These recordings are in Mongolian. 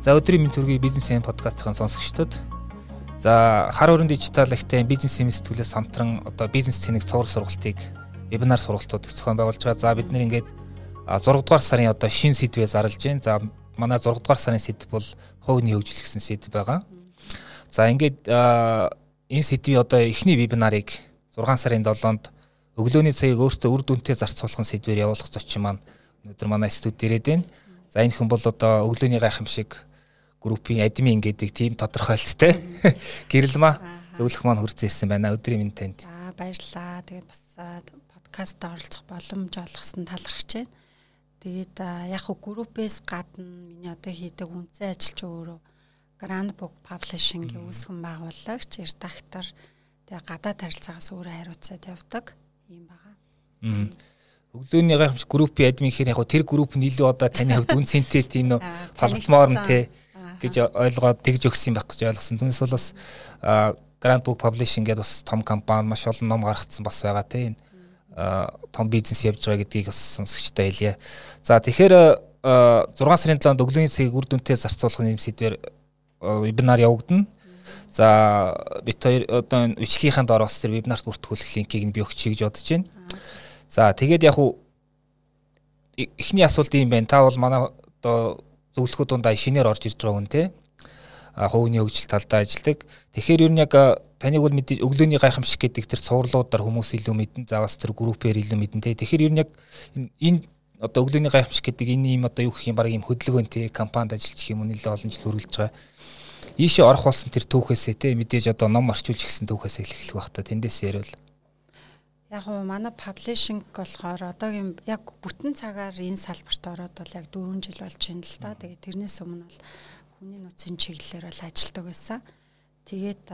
За өдрийн мэнд төргийн бизнесийн подкастын сонсогчдод за хар өрн дижитал ихтэй бизнесийн сэтгүүлээс хамтран одоо бизнес цэник цуврал сургалтыг вебинар сургалтууд зохион байгуулж байгаа. За бид нэр ингээд 6 дугаар сарын одоо шинэ сэдвээ зарлж байна. За манай 6 дугаар сарын сэдв бол хувийн хөгжил гэсэн сэдв байгаа. За ингээд энэ сэдвийн одоо эхний вебинарыг 6 сарын 7-нд өглөөний цагийг өөртөө үр дүнтэй зарцуулах сэдвээр явуулах зочин маань өнөөдөр манай студид ирээд байна. За энэ хүн бол одоо өглөөний гайхамшиг группийн админ гэдэг тийм тодорхойлттой гэрэлмаа зөвлөх маань хүрч ирсэн байна. Өдрийн минь танд. За баярлалаа. Тэгээд бас подкаст оролцох боломж олгосон талархаж байна. Тэгээд яг хөө группээс гадна миний одоо хийдэг үнцэн ажил чи өөрөө Grand Book Publishing-ийн үүсгэн байгуулагч, редактор, тэгээд гадаад харилцаагаас өөрөө хариуцаад явдаг юм байгаа. Өглөөний гайхамшиг группийн админ гэхээр яг тэр групп нь илүү одоо таны хувьд үнцэнтэй тийм нөө палатмор нь те гэж ойлгоод тэгж өгсөн байх гэж ойлгосон. Түүнээс бол бас Grand Book Publishing гэдэг бас том компани маш олон ном гаргацсан бас байгаа тийм том бизнес явж байгаа гэдгийг бас сонсогчтой хэлье. За тэгэхээр 6 сарын 7-нд өглөөний цагийг үр дүнтэй зарцуулах нэм сэдвээр вебинар явагдана. За бид хоёр одоо бичлэгийнхаа доор бас тэр вебинарт бүртгүүлэх линкийг нь би өгч гэж бодож байна. За тэгээд яг уу эхний асуулт юм байна. Та бол манай одоо зөвлөхөд дундаа шинээр орж ирж байгаа хүн те. Хувийн хөгжил талдаа ажилладаг. Тэгэхээр ер нь яг таныг бол мэдээ өглөөний гайхамшиг гэдэг тэр цувралуудаар хүмүүс илүү мэдэн, за бас тэр группээр илүү мэдэн те. Тэгэхээр ер нь яг энэ одоо өглөөний гайхамшиг гэдэг энэ юм одоо юу гэх юм баг юм хөдөлгөөн те компанид ажиллаж юм нэлээд олон жил хөрвүүлж байгаа. Ийшээ орох болсон тэр түүхээсээ те мэдээж одоо ном орчуулж гисэн түүхээсээ эхлэх байх та. Тэндээс ярил. Яг уу манай паблишинг болохоор одоогийн яг бүтэн цагаар энэ салбарт ороод бол яг 4 жил болж байна л да. Тэгээд тэрнээс өмнө бол хүний нөөцийн чиглэлээр бол ажилладаг байсан. Тэгээд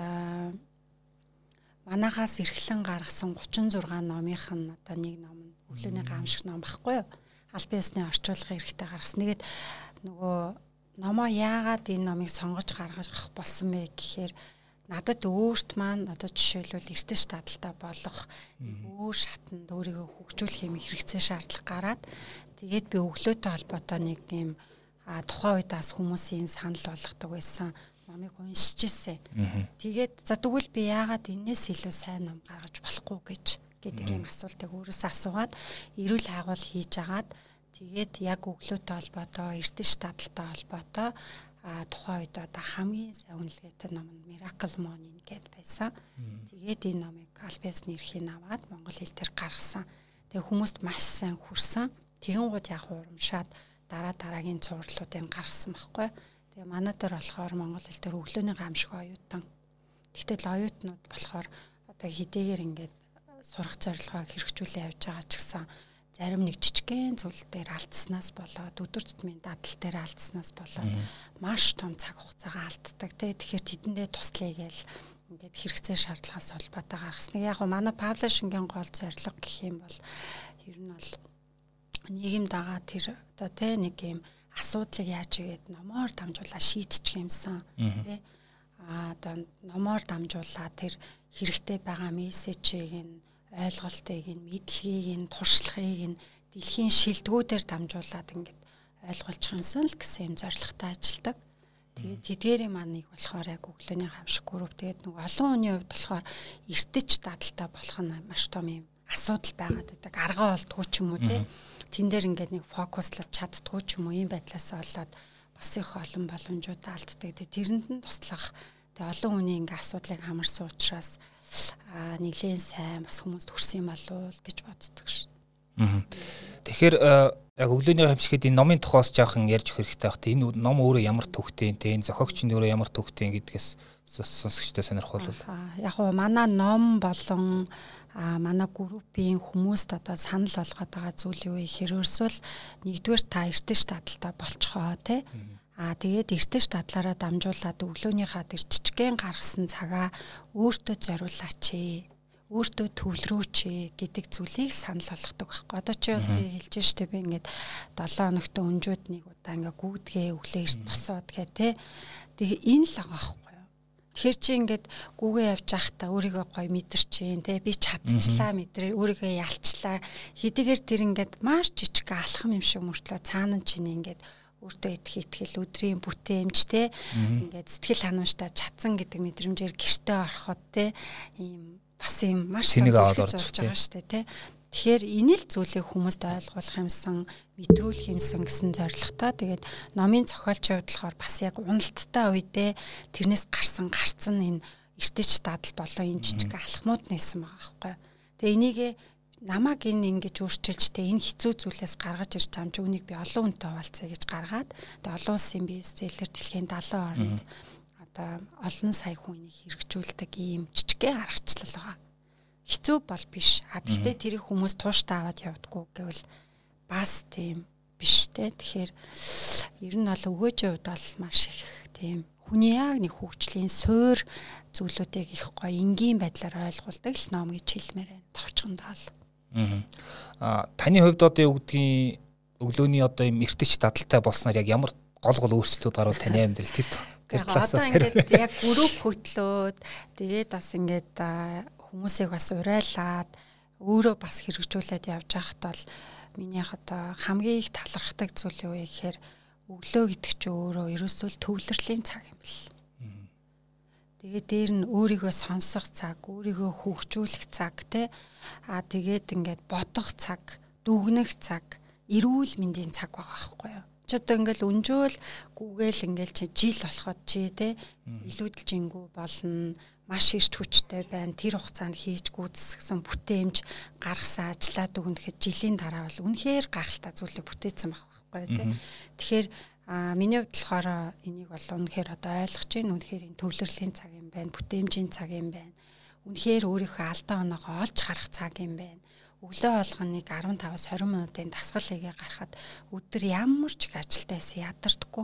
манахаас эрхлэн гаргасан 36 номынх нь одоо нэг ном нь өглөөний гайхамшиг ном баггүй юу? Аль биесний орчуулгын хэрэгтэй гаргасан. Тэгээд нөгөө номоо яагаад энэ номыг сонгож гаргах болсон бэ гэхээр надад өөрт маань одоо жишээлбэл эртэж таталтай болох өөр шатанд өөрийгөө хөгжүүлэх юм хэрэгцээ шаардлага гараад тэгээд би өглөөтэй холбоотой нэг юм тухайн үед бас хүмүүсийн санал болгодог байсан номыг уншиж ирсэн. Тэгээд за тэгвэл би яагаад энэс илүү сайн ном гаргаж болохгүй гэдэг юм асуултыг өөрөөсөө асуугаад эрүүл хайгуул хийж агаад тэгээд яг өглөөтэй холбоотой эртэж таталтай холбоотой тухайн үед одоо хамгийн сайн үнэлгээтэй ном нь Miracle Morning гэдээ байсан. Тэгээд энэ номыг Альбиасны эрхийг аваад монгол хэл дээр гаргасан. Тэгээд хүмүүст маш сайн хүрсэн. Тэгэнгүүт яг урамшаад дараагийн цувралуудыг гаргасан байхгүй. Тэгээд манай дээр болохоор монгол хэл дээр өглөөний гайхамшиг оюутан. Тэгтэл оюутнууд болохоор одоо хэдийгээр ингээд сурах зорилгоо хэрэгжүүлээ явж байгаа ч гэсэн зарим нэг жижигхэн зүйл дээр алдснаас болоод өдөр тутмын дадал дээр алдснаас болоод маш том цаг хугацаагаа алддаг. Тэгэхээр тэдэндээ туслая гээл ингээд хэрэгцээ шаардлагаас холбоотой гаргасан. Яг нь манай паблишингийн гол зорилго гэх юм бол ер нь бол нийгэмд байгаа тэр одоо тэ нэг юм асуудлыг яаж игээд номоор дамжуулаад шийдчих юмсан. Тэ одоо номоор дамжуулаад тэр хэрэгтэй байгаа мессежийг нь ойлголтыг нь мэдлэгийг нь туршлагыг нь дэлхийн шилдэгүүдээр дамжуулаад ингээд ойлгуулчих юмсан л гэсэн юм зорилготой ажилладаг. Тэгээд тэдгээрийн маныг болохоор яг өглөөний гайхамшиг групп тэгээд нэг олон хүний хувьд болохоор эртэж дадалтай болох нь маш том юм асуудал байгаад байдаг. Аргаа олдгүй ч юм уу те. Тэн дээр ингээд нэг фокуслаж чаддгүй ч юм уу ийм байдлаас болоод бас их олон боломжууд алддаг. Тэгээд тэрэнд нь туслах тэгээд олон хүний ингээд асуудлыг хамарсан учраас нэгэн сайн бас хүмүүст хүрсэн юм болов гэж боддог ш. Тэгэхээр яг өглөөний гайхамшигт энэ номын тухайс жаахан ярьж өгөх хэрэгтэй байх. Энэ ном өөрөө ямар төвхтэй те энэ зохиогч нь өөрөө ямар төвхтэй гэдгээс сонсогчтой сонирхол бол. Яг уу манай ном болон манай группийн хүмүүст одоо санал болгоод байгаа зүйл юу гэхээр ерөөсөл нэгдүгээр та эртэж таталтай болцохоо те. Тэгээд эртэж татлаараа дамжуулаад өглөөнийхаа тэр жижигхэн гаргасан цагаа өөртөө зориулаач өөртөө төвлөрөөч гэдэг зүйлийг санал болгодог байхгүй. Одоо чи бас хэлж штэ би ингээд 7 хоногт өнжөөд нэг удаа ингээд гүдгээ өглөө эрт босоод гэх те. Тэгээ энэ л байгаа байхгүй. Тэгэхээр чи ингээд гүгээ явж байхдаа өөрийгөө гоё мэдэрчээн те би чадчихлаа мэдрээ өөрийгөө ялчлаа хэдийгээр тэр ингээд маш жижиг алхам юм шиг мөртлөө цаана нь чинь ингээд өөртөө итгэл өдрийн бүтээмж те ингээд сэтгэл ханамжтай чадсан гэдэг мэдрэмжээр гэртээ ороход те ийм бас ийм маш зорж байгаа штэ те. Тэгэхээр энэ л зүйлийг хүмүүст ойлгуулах юмсан, мэдрүүлэх юмсан гэсэн зорилготой. Тэгээд номын зохиолчийн хувьд болохоор бас яг уналттай үедээ тэрнээс гарцсан энэ эртэж дадал болон энэ жижиг алхмууд нээсэн байгаа байхгүй. Тэгээ энийг намайг ингэж өөрчилж тэ энэ хэцүү зүйлээс гаргаж ирж байгаа юм чи үнийг би олон хүнтэй хуваалцъя гэж гаргаад тэгээ олон улсын бестселлер дэлхийн 70 орнд одоо олон сая хүнийг хэрэгжүүлдэг ийм жижигхэн аргачлал байгаа. Хэцүү бол биш. Гэхдээ тэрийг хүмүүс тууштай аваад явдаггүй гэвэл бас тийм биш те. Тэгэхээр ер нь бол өгөөжийн хувьд бол маш их тийм хүний яг нэг хөгжлийн суур зүйлүүдийг их гоё энгийн байдлаар ойлгуулдаг л ном гэж хэлмээр байна. Товчхондоо л. Таны хувьд одоо юу гэдгийг өглөөний одоо юм эртэж дадалтай болсноор яг ямар гол өөрчлөлтүүд гарвал таны амьдрал тэр талаасаа ингээд яг групп хөтлөөд тэгээд бас ингээд хүмүүсийг бас урайлаад өөрөө бас хэрэгжүүлээд явж байхад бол минийх одоо хамгийн их талархдаг зүйл юу вэ гэхээр өглөө гэдэг чинь өөрөө ерөөсөө төвлөрлийн цаг юм бэл. Тэгээд дээр нь өөрийгөө сонсох цаг, өөрийгөө хөгжүүлэх цаг те. Тэгээд ингээд бодох цаг, дүгнэх цаг, эрүүл мэндийн цаг байгаа байхгүй юу? Ч одоо ингээд өнжөөл гүгээл ингээд чи жил болоход чи те илүүдэлжингүү болно. Маш ирч хүчтэй байна. Тэр хугацаанд хийж гүйцэтгэсэн бүтээмж гаргасан ажлаа дүгнэхэд жилийн дараа бол үнэхээр гахалтай зүйлийг бүтээсэн байхгүй тий. Тэгэхээр миний хувьд болохоор энийг бол үнэхээр одоо ойлгож байна. Үнэхээр энэ төвлөрлийн цаг юм байна. Бүтээмжийн цаг юм байна. Үнэхээр өөрийнхөө алдаа оноогоо олж харах цаг юм байна. Өглөө болгоныг 15-аас 20 минутын дасгал хийгээ гарахад өдөр ямар ч их ажилтайсан ядардаггүй.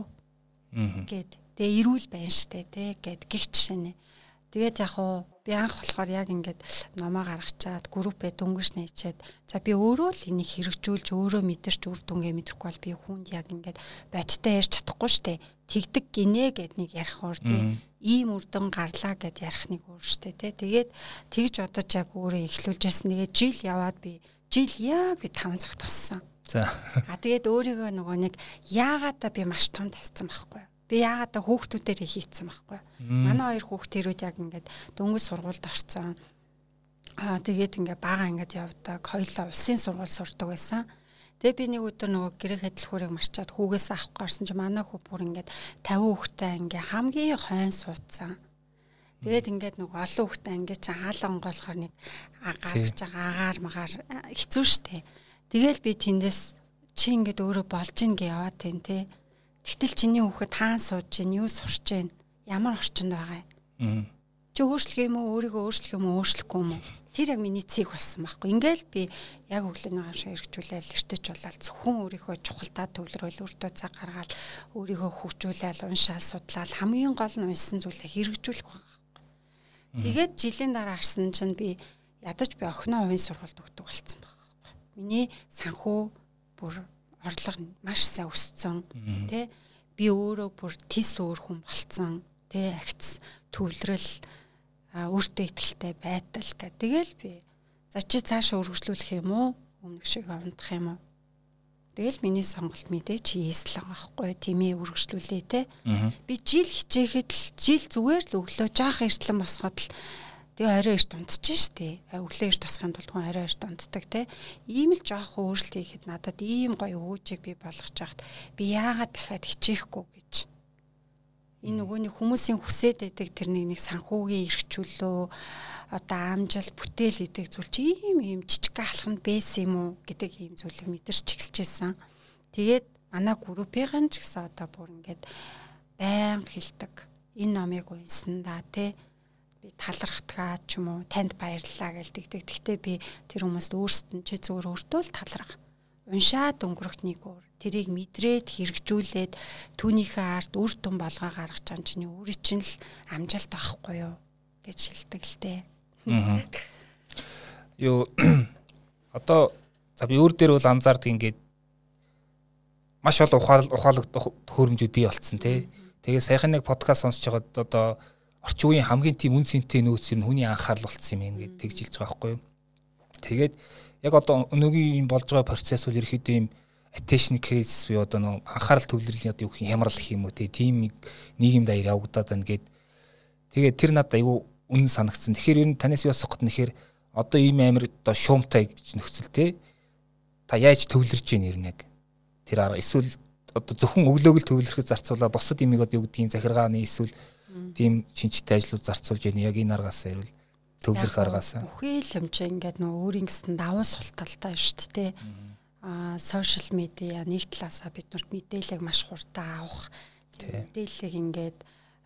Тэгээ эрүүл байна штэ тий гэд гих жишээ нэ. Тэгээд яг уу би анх болохоор яг ингээд номоо гаргачаад группээ дөнгөж нээчээд за би өөрөө л энийг хэрэгжүүлж өөрөө мэдэрч үр дүнгээ мэдрэхгүй бол би хүнд яг ингээд бодтой ярьж чадахгүй штэ. Тэгдэг гинэ гэд нэг ярих уур тий. Ийм үр дүн гарлаа гэд ярих нэг уур штэ тий. Тэгээд тэгж бодож яг өөрөө эхлүүлжсэн. Тэгээд жил яваад би яг 5 цагт боссон. За. Тэгээд өөрийгөө нөгөө нэг яагаад та би маш том тавьсан байхгүй юу? Би яагаад та хүүхдүүдээрээ хийцсэн байхгүй. Манай хоёр хүүхдэрүүд яг ингээд дөнгөж сургуульд орсон. Тэгээд ингээд бага ингээд явдаг. Хоёулаа улсын сургууль сурдаг байсан. Тэгээ би нэг өдөр нөгөө гэрээ хэдлхүүрийг марчаад хүүгээс авах гарсан чи манай хүү бүр ингээд 50 хүүхдтэй ингээд хамгийн хойн суудсан. Тэгээд ингээд нөгөө олон хүүхдтэй ингээд чи хаалга онгоолохоор нэг гаргаж байгаа агаар магаар хэцүү шттэ. Тэгэл би тэндээс чи ингээд өөрөө болж ийн гэж яваад тань те. Тэгтэл чиний хүүхэд хаан сууж гин юу сурч гин ямар орчинд байгаа юм. Чи өөрчлөх юм уу өөрийгөө өөрчлөх юм уу өөрчлөхгүй юм уу? Тэр яг миний цэг болсон байхгүй. Ингээл би яг өглөөний гавшаа хэрэгжүүлээл эртэж болоод зөвхөн өөрийнхөө чухалдаа төвлөрөөл өөртөө цаг гаргаад өөрийгөө хөгжүүлээл уншаал судлаал хамгийн гол нь уншсан зүйлээ хэрэгжүүлэх байгаа. Тэгээд жилийн дараа арсан чинь би ядаж би охиноо хувийн сургуульд өгдөг болсон байхгүй. Миний санхүү бүр орлого маш сайн өссөн тий би өөрөө бүр тис өөр хүн болцсон тий агц төвлөрөл өөртөө ихтэй байтал гэх. Тэгэл би за чи цаашаа өргөжлүүлэх юм уу өмнөх шиг унтах юм уу? Тэгэл миний сонголт мэдээч хийсэл байгаа байхгүй тиймээ өргөжлүүлээ тий. Би жил хичээхэд л жил зүгээр л өглөө жаах эртлэн босоход л тэгээ орой эрт унтчих штэ. Өглөө эрт тосхын тулд хүн орой эрт унтдаг те. Ийм л жоох өөрчлөлт хийхэд надад ийм гоё өөжийг би болгож яхад би яагаад дахиад хичээхгүй гэж. Энэ нөгөөний хүмүүсийн хүсээд байдаг тэр нэг санхүүгийн эрхчлөлөө одоо амжил бүтээл гэдэг зүйл чи ийм жижиг алхамд байсан юм уу гэдэг ийм зүйлийг мэдэрч эхэлчихсэн. Тэгээд манай группийн ч гэсэн одоо бүр ингээд байнга хэлдэг. Энэ номыг унсан да те. Талархтгаа ч юм уу танд баярлалаа гэлдэгдэг. Гэхдээ би тэр хүмүүст өөрсдөө чи зүгээр өөртөө л таларх. Уншаад өнгөрөх нэг өөр. Тэрийг мэдрээд хэрэгжүүлээд түүнийхээ ард үр дүн болгоо гаргаж байгаа чинь өөрийн чинь л амжилт авахгүй юу гэж хэлдэг л дээ. Юу одоо за би өөр дээр бол анзаардаг ингээд маш олон ухаалаг төхөөрөмжүүд бий болцсон тий. Тэгээ саяхан нэг подкаст сонсож байгаад одоо орчин үеийн хамгийн тийм үн цэнтэй нөөц нь хүний анхаарал болсон юм гээд тэгж хэлж байгаа байхгүй юу. Тэгээд яг одоо өнөөгийн юм болж байгаа процесс бол ерөөхдөө юм attention crisis буюу одоо нэг анхаарал төвлөрлийн одоо юу гэх юм хямрал гэх юм уу тийм нийгэм даяар явагдаад байна гэд. Тэгээд тэр надад аюу үнэн санагдсан. Тэгэхээр ер нь танаас юу асах гээд нэхэр одоо ийм амир одоо шуумтай гэж нөхцөл та яаж төвлөрж ийн ер нь яг тэр арга эсвэл одоо зөвхөн өглөөг л төвлөрөхөд зарцуулаа босод имийг одоо юу гэдгийг захиргааны эсвэл тийм шинжтэй ажлууд зарцуулж яана яг энэ аргаас ирвэл төвлөрөх аргаас бүхий л хэмжээ ингээд нөгөө өөрийн гэсэн давуу сул талтай шүү дээ. Сошиал медиа нэг талаасаа биднэрт мэдээлэл маш хурдан авах мэдээллийг ингээд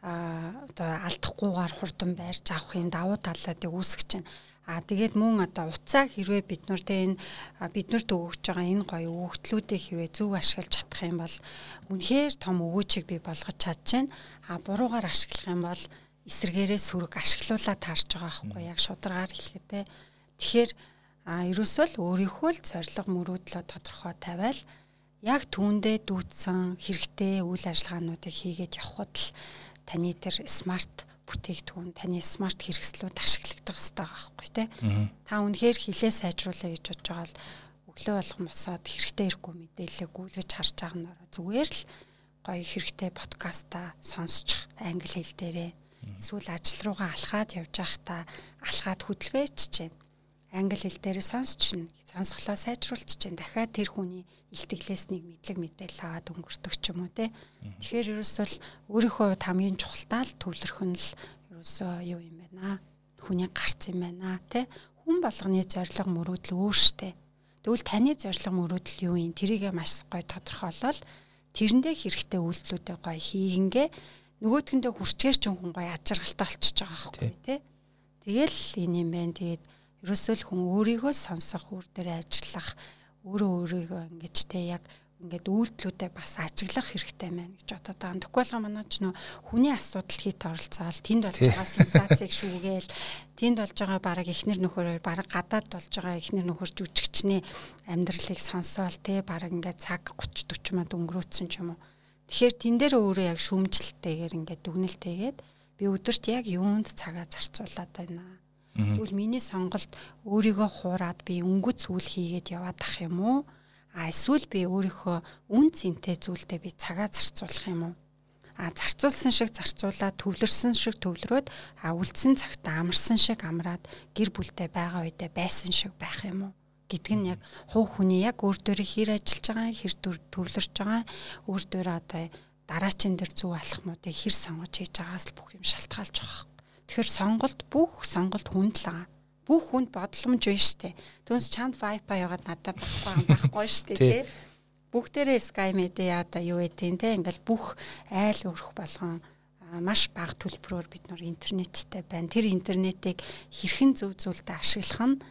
одоо алдахгүйгээр хурдан байрж авах юм давуу талуудыг үүсгэж байна. Тэгээд мөн одоо уцааг хэрвээ биднэрт биднэрт өгөж байгаа энэ гоё өгөгдлүүдийг хэрвээ зөв ашиглаж чадах юм бол үнэхээр том өгөөжийг бий болгож чадчихна. Буруугаар ашиглах юм бол эсэргээрээ сүрэг ашиглуулаад таарч байгаа байхгүй яг шударгаар хэлэхдээ. Тэгэхээр ерөөсөө л өөрийнхөө л зорилго мөрөөдлөө тодорхой тавиал яг түүндээ дүүцсэн хэрэгтэй үйл ажиллагаануудыг хийгээд явхад л таны тэр смарт бүтээгдэхүүн таны смарт хэрэгслүүд ашиглагдах хэрэгтэй байхгүй тий. Та үнэхээр хилээ сайжруулъя гэж бодож байгаа л өглөө болгон босоод хэрэгтэй хэрэггүй мэдээлэл гүйлгэж харж байгаа нь зүгээр л гоё хэрэгтэй подкастаа сонсчих англи хэл дээрээ эсвэл ажил руугаа алхаад явж байхдаа алхаад хөдөлгөөч чинь англи хэл дээрээ сонсчихно. Сонсголоо сайжруулчих чинь дахиад тэр хүний илтгэлээс нэг мэдлэг мэдээлэл аваад өнгөртөг ч юм уу те. Тэгэхээр ерөөсөө өөрийнхөө хамгийн чухалтай л төвлөрөх нь л ерөөсөө юу юм байна. Хүний гарц юм байна те. Хүн болгоны зорилго мөрөөдөл өөр штэ. Тэгвэл таны зорилго мөрөөдөл юу юм? Тэрийг маш гоё тодорхойлол тэрэндээ хэрэгтэй үйлдэлүүдээ гоё хийгингээ нөгөөдгөндөө хүрчээр ч хүн гоё ажиргалтай болчихж байгаа байхгүй те. Тэгэл энэ юм байна. Тэгээд ерөөсөө л хүн өөрийгөө сонсох, өөр дээр ажиллах, өөрийгөө ингэж те яг ингээд үйлдэлүүдэд бас ажиглах хэрэгтэй байна гэж бодоод байгаа. Тэгэхгүй болгоо манай ч нөө хүний асуудал хийд оролцоол тэнд болж байгаа сенсацийг шүүгээл тэнд болж байгаа бараг эхнэр нөхөрөөр бараг гадаад болж байгаа эхнэр нөхөр жүжигчний амьдралыг сонсоол те бараг ингээд цаг 30 40 мод өнгөрөөцсөн ч юм уу. Тэгэхээр тэн дээр өөрөө яг шүүмжлэлтэйгээр ингээд дүгнэлтэйгээд би өдөрт яг юунд цагаа зарцуулаад байна. Тэгвэл миний сонголт өөрийгөө хуураад би өнгөц зүйл хийгээд яваад ах юм уу? Эсвэл би өөрийнхөө үн цэнтэй зүйлдээ би цагаа зарцуулах юм уу? Зарцуулсан шиг зарцуулаад төвлөрсөн шиг төвлөрөөд үлдсэн цагтаа амарсан шиг амраад гэр бүлтэй байгаа үедээ байсан шиг байх юм уу? Гэдг нь яг хувь хүний яг өөр дөрөө хэр ажиллаж байгаа, хэр төвлөрж байгаа, өөр дөрөө одоо дараачийн дээр зөв алхмуудыг хэр сонгож хийж байгаас л бүх юм шалтгаалж байгаа. Тэгэхээр бүх сонголт хүнд л байгаа. Бүх хүнд бодломж байна штэ. Түүнээс чамд Wi-Fi ягаад надад байхгүй штэ тий. Бүгдээрээ Sky Media одоо юу гэдэг те ингээл бүх айл өрх болгон маш бага төлбөрөөр бид нар интернеттэй байна. Тэр интернетийг хэрхэн зөв зөвлөд ашиглах нь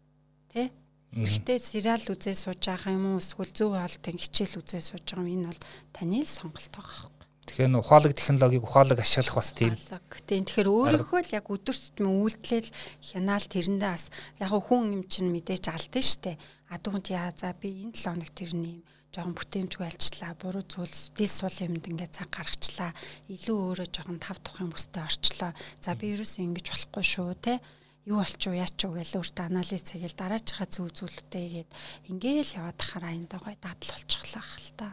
тий хэрэгтэй сериал үзээ сууж байгаа юм уу эсвэл зөв хоолтын хичээл үзээ сууж байгаа юм энэ бол таны л сонголт байгаа. Тэгэхээр ухаалаг технологиг ухаалаг ашиглах бас тийм. Тэгэхээр өөрөөхөө л яг өдөр тутмын үйлдэл хянаал тэрэндээ бас яг хүн юм чинь мэдээж алдсан штэ. Адуунд яа за би энэ 7 хоног тэрний юм жоохон бүтээмжгүй альчлаа, буруу зүйлс дил сул юмд ингээд цаг гаргачлаа. Илүү өөрөө жоохон тав тухын бүстэй орчлоо. За би ерөөсөө ингэж болохгүй шүү те. Юу болчих вэ, яач вэ гэж өөртөө анализ хийгээл дараачихаа зөв зүйлүүдээ игээд ингээл яваад тахаараа энэ гой дадал болчихлаа хэл та.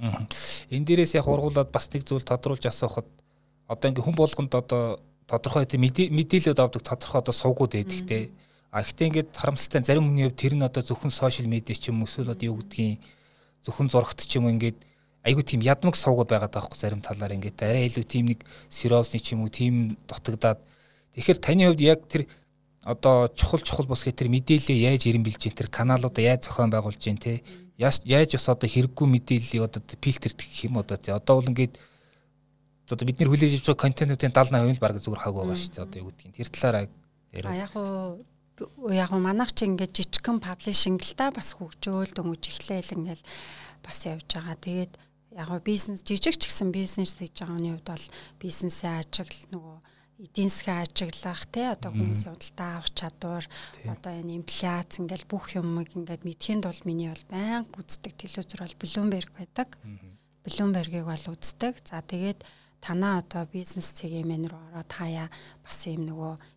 Энэ дээрээс яг ургуулад бас нэг зүйл тодруулж асуухад одоо ингээ хүн болгонд одоо тодорхой мэдээлэлд авдаг тодорхой одоо сувгууд байдаг те. Гэхдээ ингээд харамсалтай зарим хүний хувьд тэр нь одоо зөвхөн сошиал медиа ч юм уу эсвэл одоо юу гэдгийг зөвхөн зурагт ч юм уу ингээд айгүй тийм ядмаг сувгууд байгаад байгаа хгүй зарим талаар ингээд арай илүү тийм нэг сериосны ч юм уу тийм дутагдаад тэгэхээр таны хувьд яг тэр одоо чухал бус гэх тэр мэдээлэл яаж ирэн билж ин тэр каналуудаа яаж зохион байгуулж ин те яаж бас одоо хэрэггүй мэдээллийг одоо фильтрдэх гэх юм одоо те одоо бол ингээд одоо бидний хүлээж авч байгаа контентуудын 70% л баг зүгээр хаг байгаа шүү дээ одоо юу гэдгийг тэр талаараа яг манайх чи ингээд жижигхэн паблишинг л та бас хөгжөөл дөнгөж эхлээл ингээд бас явж байгаа. Тэгээд яг бизнес жижиг ч гэсэн бизнес хийж байгаагийн хувьд бол бизнесээ ажиглал нөгөө эдийн засгийн ажиглах тий одоо хүмүүсийн худалдаа авах чадвар одоо энэ инфляц ингээл бүх юмыг ингээд мэдхийн тулд миний бол байнга үздэг телевизэр бол Bloomberg байдаг. Bloomberg-ийг бол үздэг. За тэгээд танаа одоо бизнес цэгийн мен рүү ороод хаяа бас юм нөгөө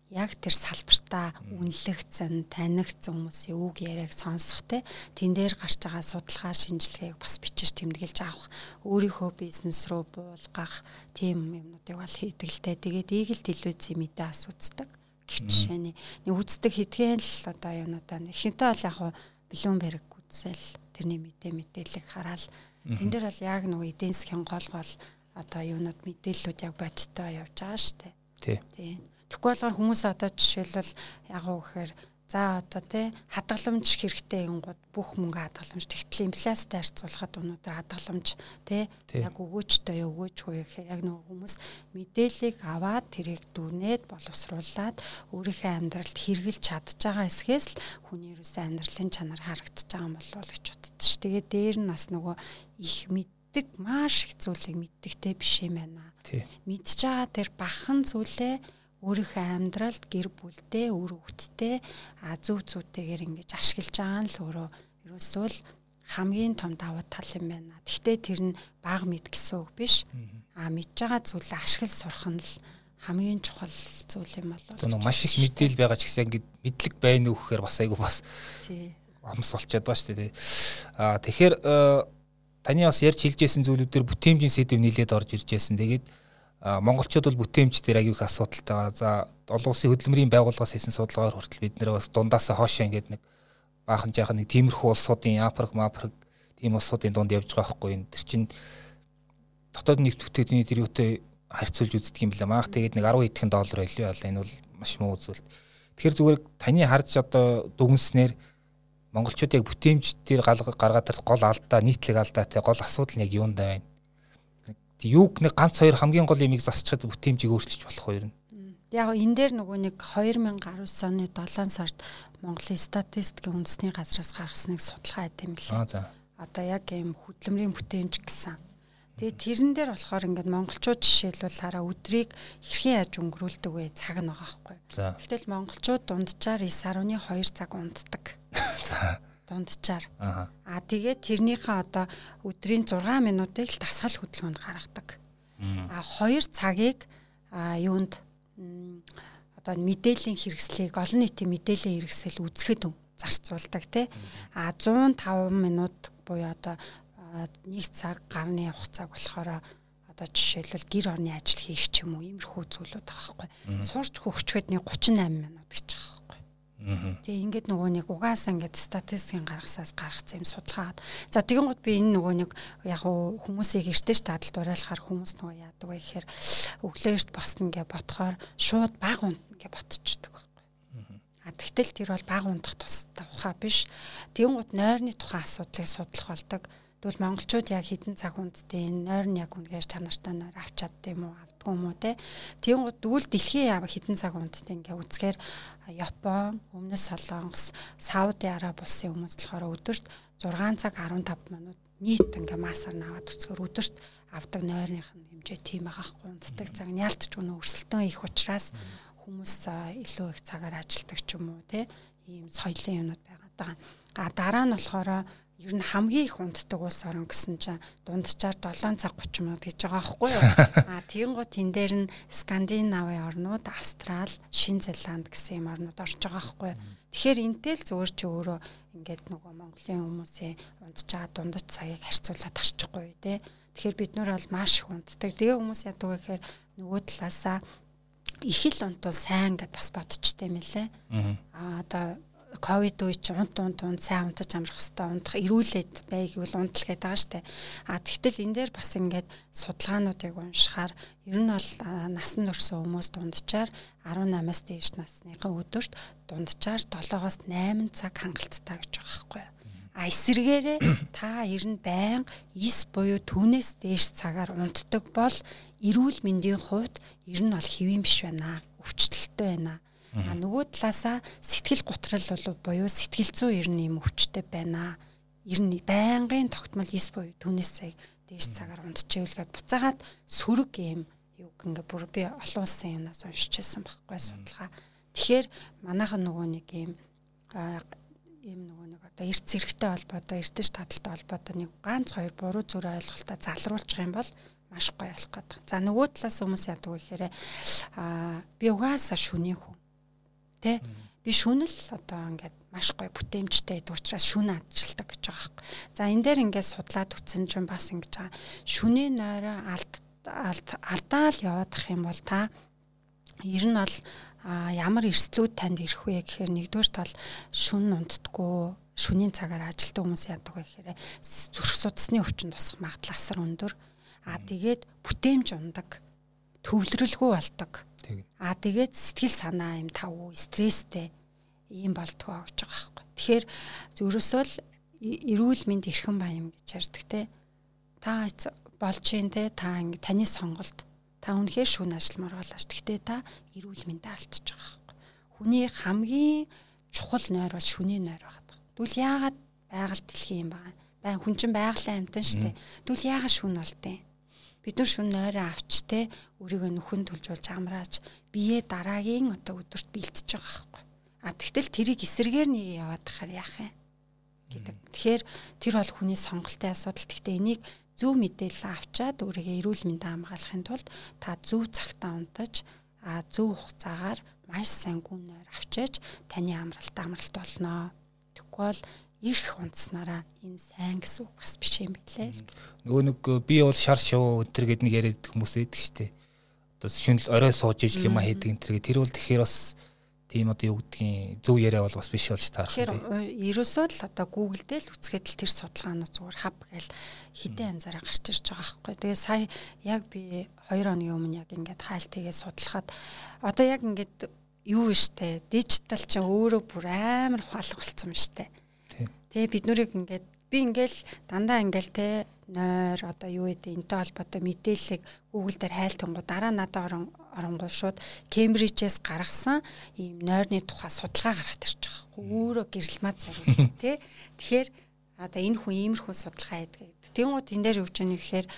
яг тэр салбартаа үнэлэгдсэн, танигдсан хүмүүсийн үг яриаг сонсох тэн дээр гарч байгаа судалгаа шинжилгээг бас бичиж тэмдэглэж авах, өөрийнхөө бизнес руу буулгах тийм юмнуудыг бол хийдэг л дээ. Тэгээд ийгэл телевизийн мэдээ асуудаг. Гэх жишээний нэг үздэг хэдхэн л одоо юмудаа ихэнхдээ бол яг Bloomberg үзэл тэрний мэдээллийг хараад энэ дээр бол яг нөгөө эдийн засгийн гол одоо юунууд мэдээллүүд яг бодиттой явж байгаа шүү дээ. Тийм. Тэгэхгүй болохоор хүмүүс одоо жишээлбэл яг уу гэхээр за одоо хадгаламж хэрэгтэй юмгууд бүх мөнгө хадгаламж тэгтэл инфляцтай харьцуулахад өнөөдөр хадгаламж яг өгөөжтэй өгөөжгүй гэхээр яг нөгөө хүмүүс мэдээллийг аваад тэрийг дүнээд боловсруулад өөрийнхөө амьдралд хэрэгжилж чадж байгаа эсхээс л хүний ерөөсөө амьдралын чанар харагдаж байгаа юм болов гэж боддоо ш. Тэгээд дээр нь бас нөгөө их маш их зүйлийг мэддэгтэй биш юм байна. Мэдж байгаа тэр бахан зүйлээ өөрийнхөө амьдралд гэр бүлдээ, үр хүүхдтэй зөв зүйтэйгээр ингэж ашиглаж байгаа нь л өөрөө ерөөсөө л хамгийн том давуу тал юм байна. Гэхдээ тэр нь бага мэд гэсэн үг биш. Мэдж байгаа зүйлээ ашиглаж сурах нь л хамгийн чухал зүйл юм болов. Тэр маш их мэдээлэл байгаа ч гэсэн ингэж мэдлэг байна уу гэхээр бас айгүй бас амс болчиход байгаа шүү дээ. Тэгэхээр таны бас ярьж хэлжсэн зүйлүүдээр бүтээмжийн сэдв нийлээд орж ирж байсан. Тэгээд монголчууд бол бүтээмж дээр аягүй их асуудалтай байгаа. За олон улсын хөдөлмөрийн байгууллагаас хийсэн судалгаагаар хүртэл бид нэр бас дундаасаа хоошоо ингээд нэг баахан жаахан нэг тиймэрхүү улсуудын Африк тийм улсуудын дунд явж байгаа байхгүй юм. Тэр чинь дотоод нийт бүтээгдэхүүний тэр юутай харьцуулж үздэг юм байна. Маах тэгээд нэг 10 хэдхэн доллар байлгүй болоо. Энэ бол маш муу зүйл. Тэгэхээр зүгээр таны харж одоо дүгнснээр монголчууд яг бүтээмж дээр гаргаад ирэх гол алдаа, нийтлэг алдаатай гол асуудал нь яг юундаа байна? Юуг нэг ганц хоёр хамгийн гол юмыг засчихад бүтээмжийг өөрчилж болох хоёр нь. Яг энэ дээр нөгөө нэг 2019 оны 7 сард Монголын статистикийн үндэсний газраас гаргасан нэг судалгаа байт юм лээ. Одоо яг ийм хөдөлмөрийн бүтээмж гэсэн. Тэгээд тэрэн дээр болохоор ингээд монголчууд жишээлбэл хараа өдрийг хэрхэн яаж өнгөрүүлдэг вэ? Цаг нь байгаа байхгүй. Гэтэл монголчууд дунджаар 9.2 цаг унтдаг. Дунджаар. Тэгээд тэрнийхээ одоо өдрийн 6 минутыг л дасгал хөдөлгөөнд гаргадаг. 2 цагийг юунд одоо мэдээллийн хэрэгслийг олон нийтийн мэдээллийн хэрэгсэл үзэхэд зарцуулдаг тий. 105 минут буюу одоо 1 цаг гарны хугацааг болохоор одоо жишээлбэл гэр орны ажил хийх ч юм уу иймэрхүү зүйлүүд байгаа байхгүй. Сурч хөгчөхөд нэг 38 минут гэж байгаа байхгүй. Тэгээ ингээд нөгөө нэг угаасаа ингээд статистикийн гаргасаас гаргацсан юм судалгаад. За тэгэн гот би энэ нөгөө нэг яг хүмүүсийг эртэж тадалд уриалахаар хүмүүс нөгөө яадаг вэ гэхээр өглөө эрт босно гэж бодохоор шууд баг унтна гэж ботчихдаг байхгүй. Тэгтэл тэр бол баг унтах тухай биш. Тэгэн гот нойрны тухайн асуудлыг судлах болдог. Тэгвэл монголчууд яг хэдэн цаг унтдээ нойр нь яг үнэхээр чанартай нойр авч чаддаг юм уу авдгүй юм уу те. Тийм гот дүүл дэлхийн яв хэдэн цаг унтдээ ингээ үзэхээр Япон, Өмнөд Солонгос, Сауди Араб улсын хүмүүс болохоор өдөрт 6 цаг 15 минут нийт ингээ массаар наваад үзэхээр өдөрт авдаг нойрных нь хэмжээ тийм байгаа хгүй унтдаг цаг нь ялтч өнө өрсөлдөөн их учраас хүмүүс илүү их цагаар ажилладаг ч юм уу те. Ийм соёлын юмнууд байгаа даа. Дараа нь болохоор ер нь хамгийн их унтдаг улс орн гэсэн чинь дунджаар 7 цаг 30 минут гэж байгаа байхгүй юу? Тийм гот энэ дээр нь Скандинавын орнууд, Австрал, Шинэ Зеланд гэсэн юм орнууд орж байгаа байхгүй юу? Тэгэхээр энтэй л зүгээр чи өөрөө ингээд нөгөө Монголын хүмүүсийн унтж байгаа дундаж цагийг харьцуулаад харчихгүй тий. Тэгэхээр бид нар бол маш их унтдаг. Тэгээ хүмүүс яадаг вэ гэхээр нөгөө талаасаа их л унтвал сайн гэд бас бодчихдээ мэлээ. Одоо ковид үе чи унт сайн унтаж амрах хэвээр унтах ирүүлээд байг бол унтал гэдэг байгаа штэ. Тэгтэл энэ дээр бас ингээд судалгаануудыг уншихаар ер нь бол насан турш хүмүүс дунджаар 18-аас дээш насныхаа өдөрт дунджаар 7-оос 8 цаг хангалттай гэж байгаа байхгүй юу. Эсвэргээрээ та ер нь байн 9 буюу түүнээс дээш цагаар унтдаг бол эрүүл мэндийн хувьд ер нь бол хэвэн биш байна. Өвчлөлттэй байна. Нөгөө талаасаа сэтгэл готрал бол буюу сэтгэл зүй ер нь юм өвчтэй байна. Ер нь байнгын тогтмол 9 буюу түүнээс цаг дээш цагаар унтчихвэл буцаагаад сөрөг юм юу ингээ бүр би олон улсын юмнаас уншижсэн байхгүй судалгаа. Тэгэхээр манайхан нөгөө нэг юм нөгөө нэг одоо эрт зэрэгтэй холбоотой эртэж таталтай холбоотой нэг ганц хоёр буруу зүрх ойлголтоо залруулчих юм бол маш гоё болох гэдэг. За нөгөө талаас хүмүүс яадаг вэ гэхээр би угаасаа шүнийн хүн. Тэ би шүнэл одоо ингээд маш гоё бүтээмжтэй гэдэг учраас шүн ажилтдаг гэж байгаа байхгүй. За энэ дээр ингээд судлаад үтсэн чинь бас ингэж байгаа. Шүний нойроо алдаал яваадах юм бол та ер нь бол ямар эрсдлүүд танд ирэх вэ гэхээр нэгдүгээр тал шүн унтдаггүй, шүнийн цагаар ажилтдаг хүмүүс яадаг вэ гэхээр зүрх судасны өвчин тусах магадлал асар өндөр. Тэгээд бүтээмж ундаг, төвлөрөлгүй болдог. Тэгээд сэтгэл санаа юм тавгүй, стресстэй ийм болдгоо гэж байгаа байхгүй. Тэгэхээр ерөөсөө л эрүүл мэнд эрхэм баян гэж ярьдаг те. Та болж гин те, та ингэ таны сонголт. Та үнэхээр шүүн ажилламаар болооч. Гэхдээ та эрүүл мэндэ алдчих байгаа байхгүй. Хүний хамгийн чухал нойр бол шүний нойр байгаа. Тэгвэл яагаад байгаль дэлхийн юм байгаа. Хүн чинь байгалийн амьтан шүү дээ. Тэгвэл яагаад шүүн болтой? Бид нар шүн нойроо авч те өөрийгөө нүхэн төлжүүлж амрааж бие дараагийн одоо өдөрт бэлтэж байгаа байхгүй. Тэгтэл тэрийг эсэргээр нэг яваад тахаар яах юм гэдэг. Тэгэхээр тэр бол хүний сонголтын асуудал. Гэхдээ энийг зөв мэдээлэл авчаад өөрийгөө эрүүл мэндэ хамгаалахын тулд та зөв цагтаа унтаж зөв хугацаагаар маш сайн гүн нойр авчиж таны амралт болно. Тэгвэл бол ирэх унтснараа энэ сайн гэсэн үг бас биш юм билээ. Нөгөө нэг би бол шар шуу өтер гэдэг нэг яриад хүмүүс байдаг шүү дээ. Одоо шүнэл орой сууж ижил юм хийдэг энэ төр. Тэр бол тэгэхээр бас тийм одоо юу гэдгийг зөв яриа бол бас биш болж таарах. Тэгэхээр ерөөсөө л одоо Google дээр л үцгээд л тэр судалгаанууд зүгээр хав гээл хідэн анзаараа гарч ирж байгаа байхгүй. Тэгээ сая яг би 2 хоногийн өмнө яг ингээд хайлтыгээ судлахад одоо яг ингээд юу вэ штэ дижитал чинь өөрөө бүр амар ухаалаг болсон юм штэ. Тэгээ бид нүрийг ингээд би ингээл дандаа ингээл те нойр одоо юу гэдэг энтэй холбоотой мэдээллийг Google дээр хайлтангуу дараа надад оронгоо шууд Кембрижээс гаргасан ийм нойрны тухай судалгаа гараад ирж байгаа хгүй өөрөө гэрэлмат зурвал те. Тэгэхээр одоо энэ хүн иймэрхүү судалгаа хийдэг. Тэнгууд энэ дээр юу гэж нэг гэхээр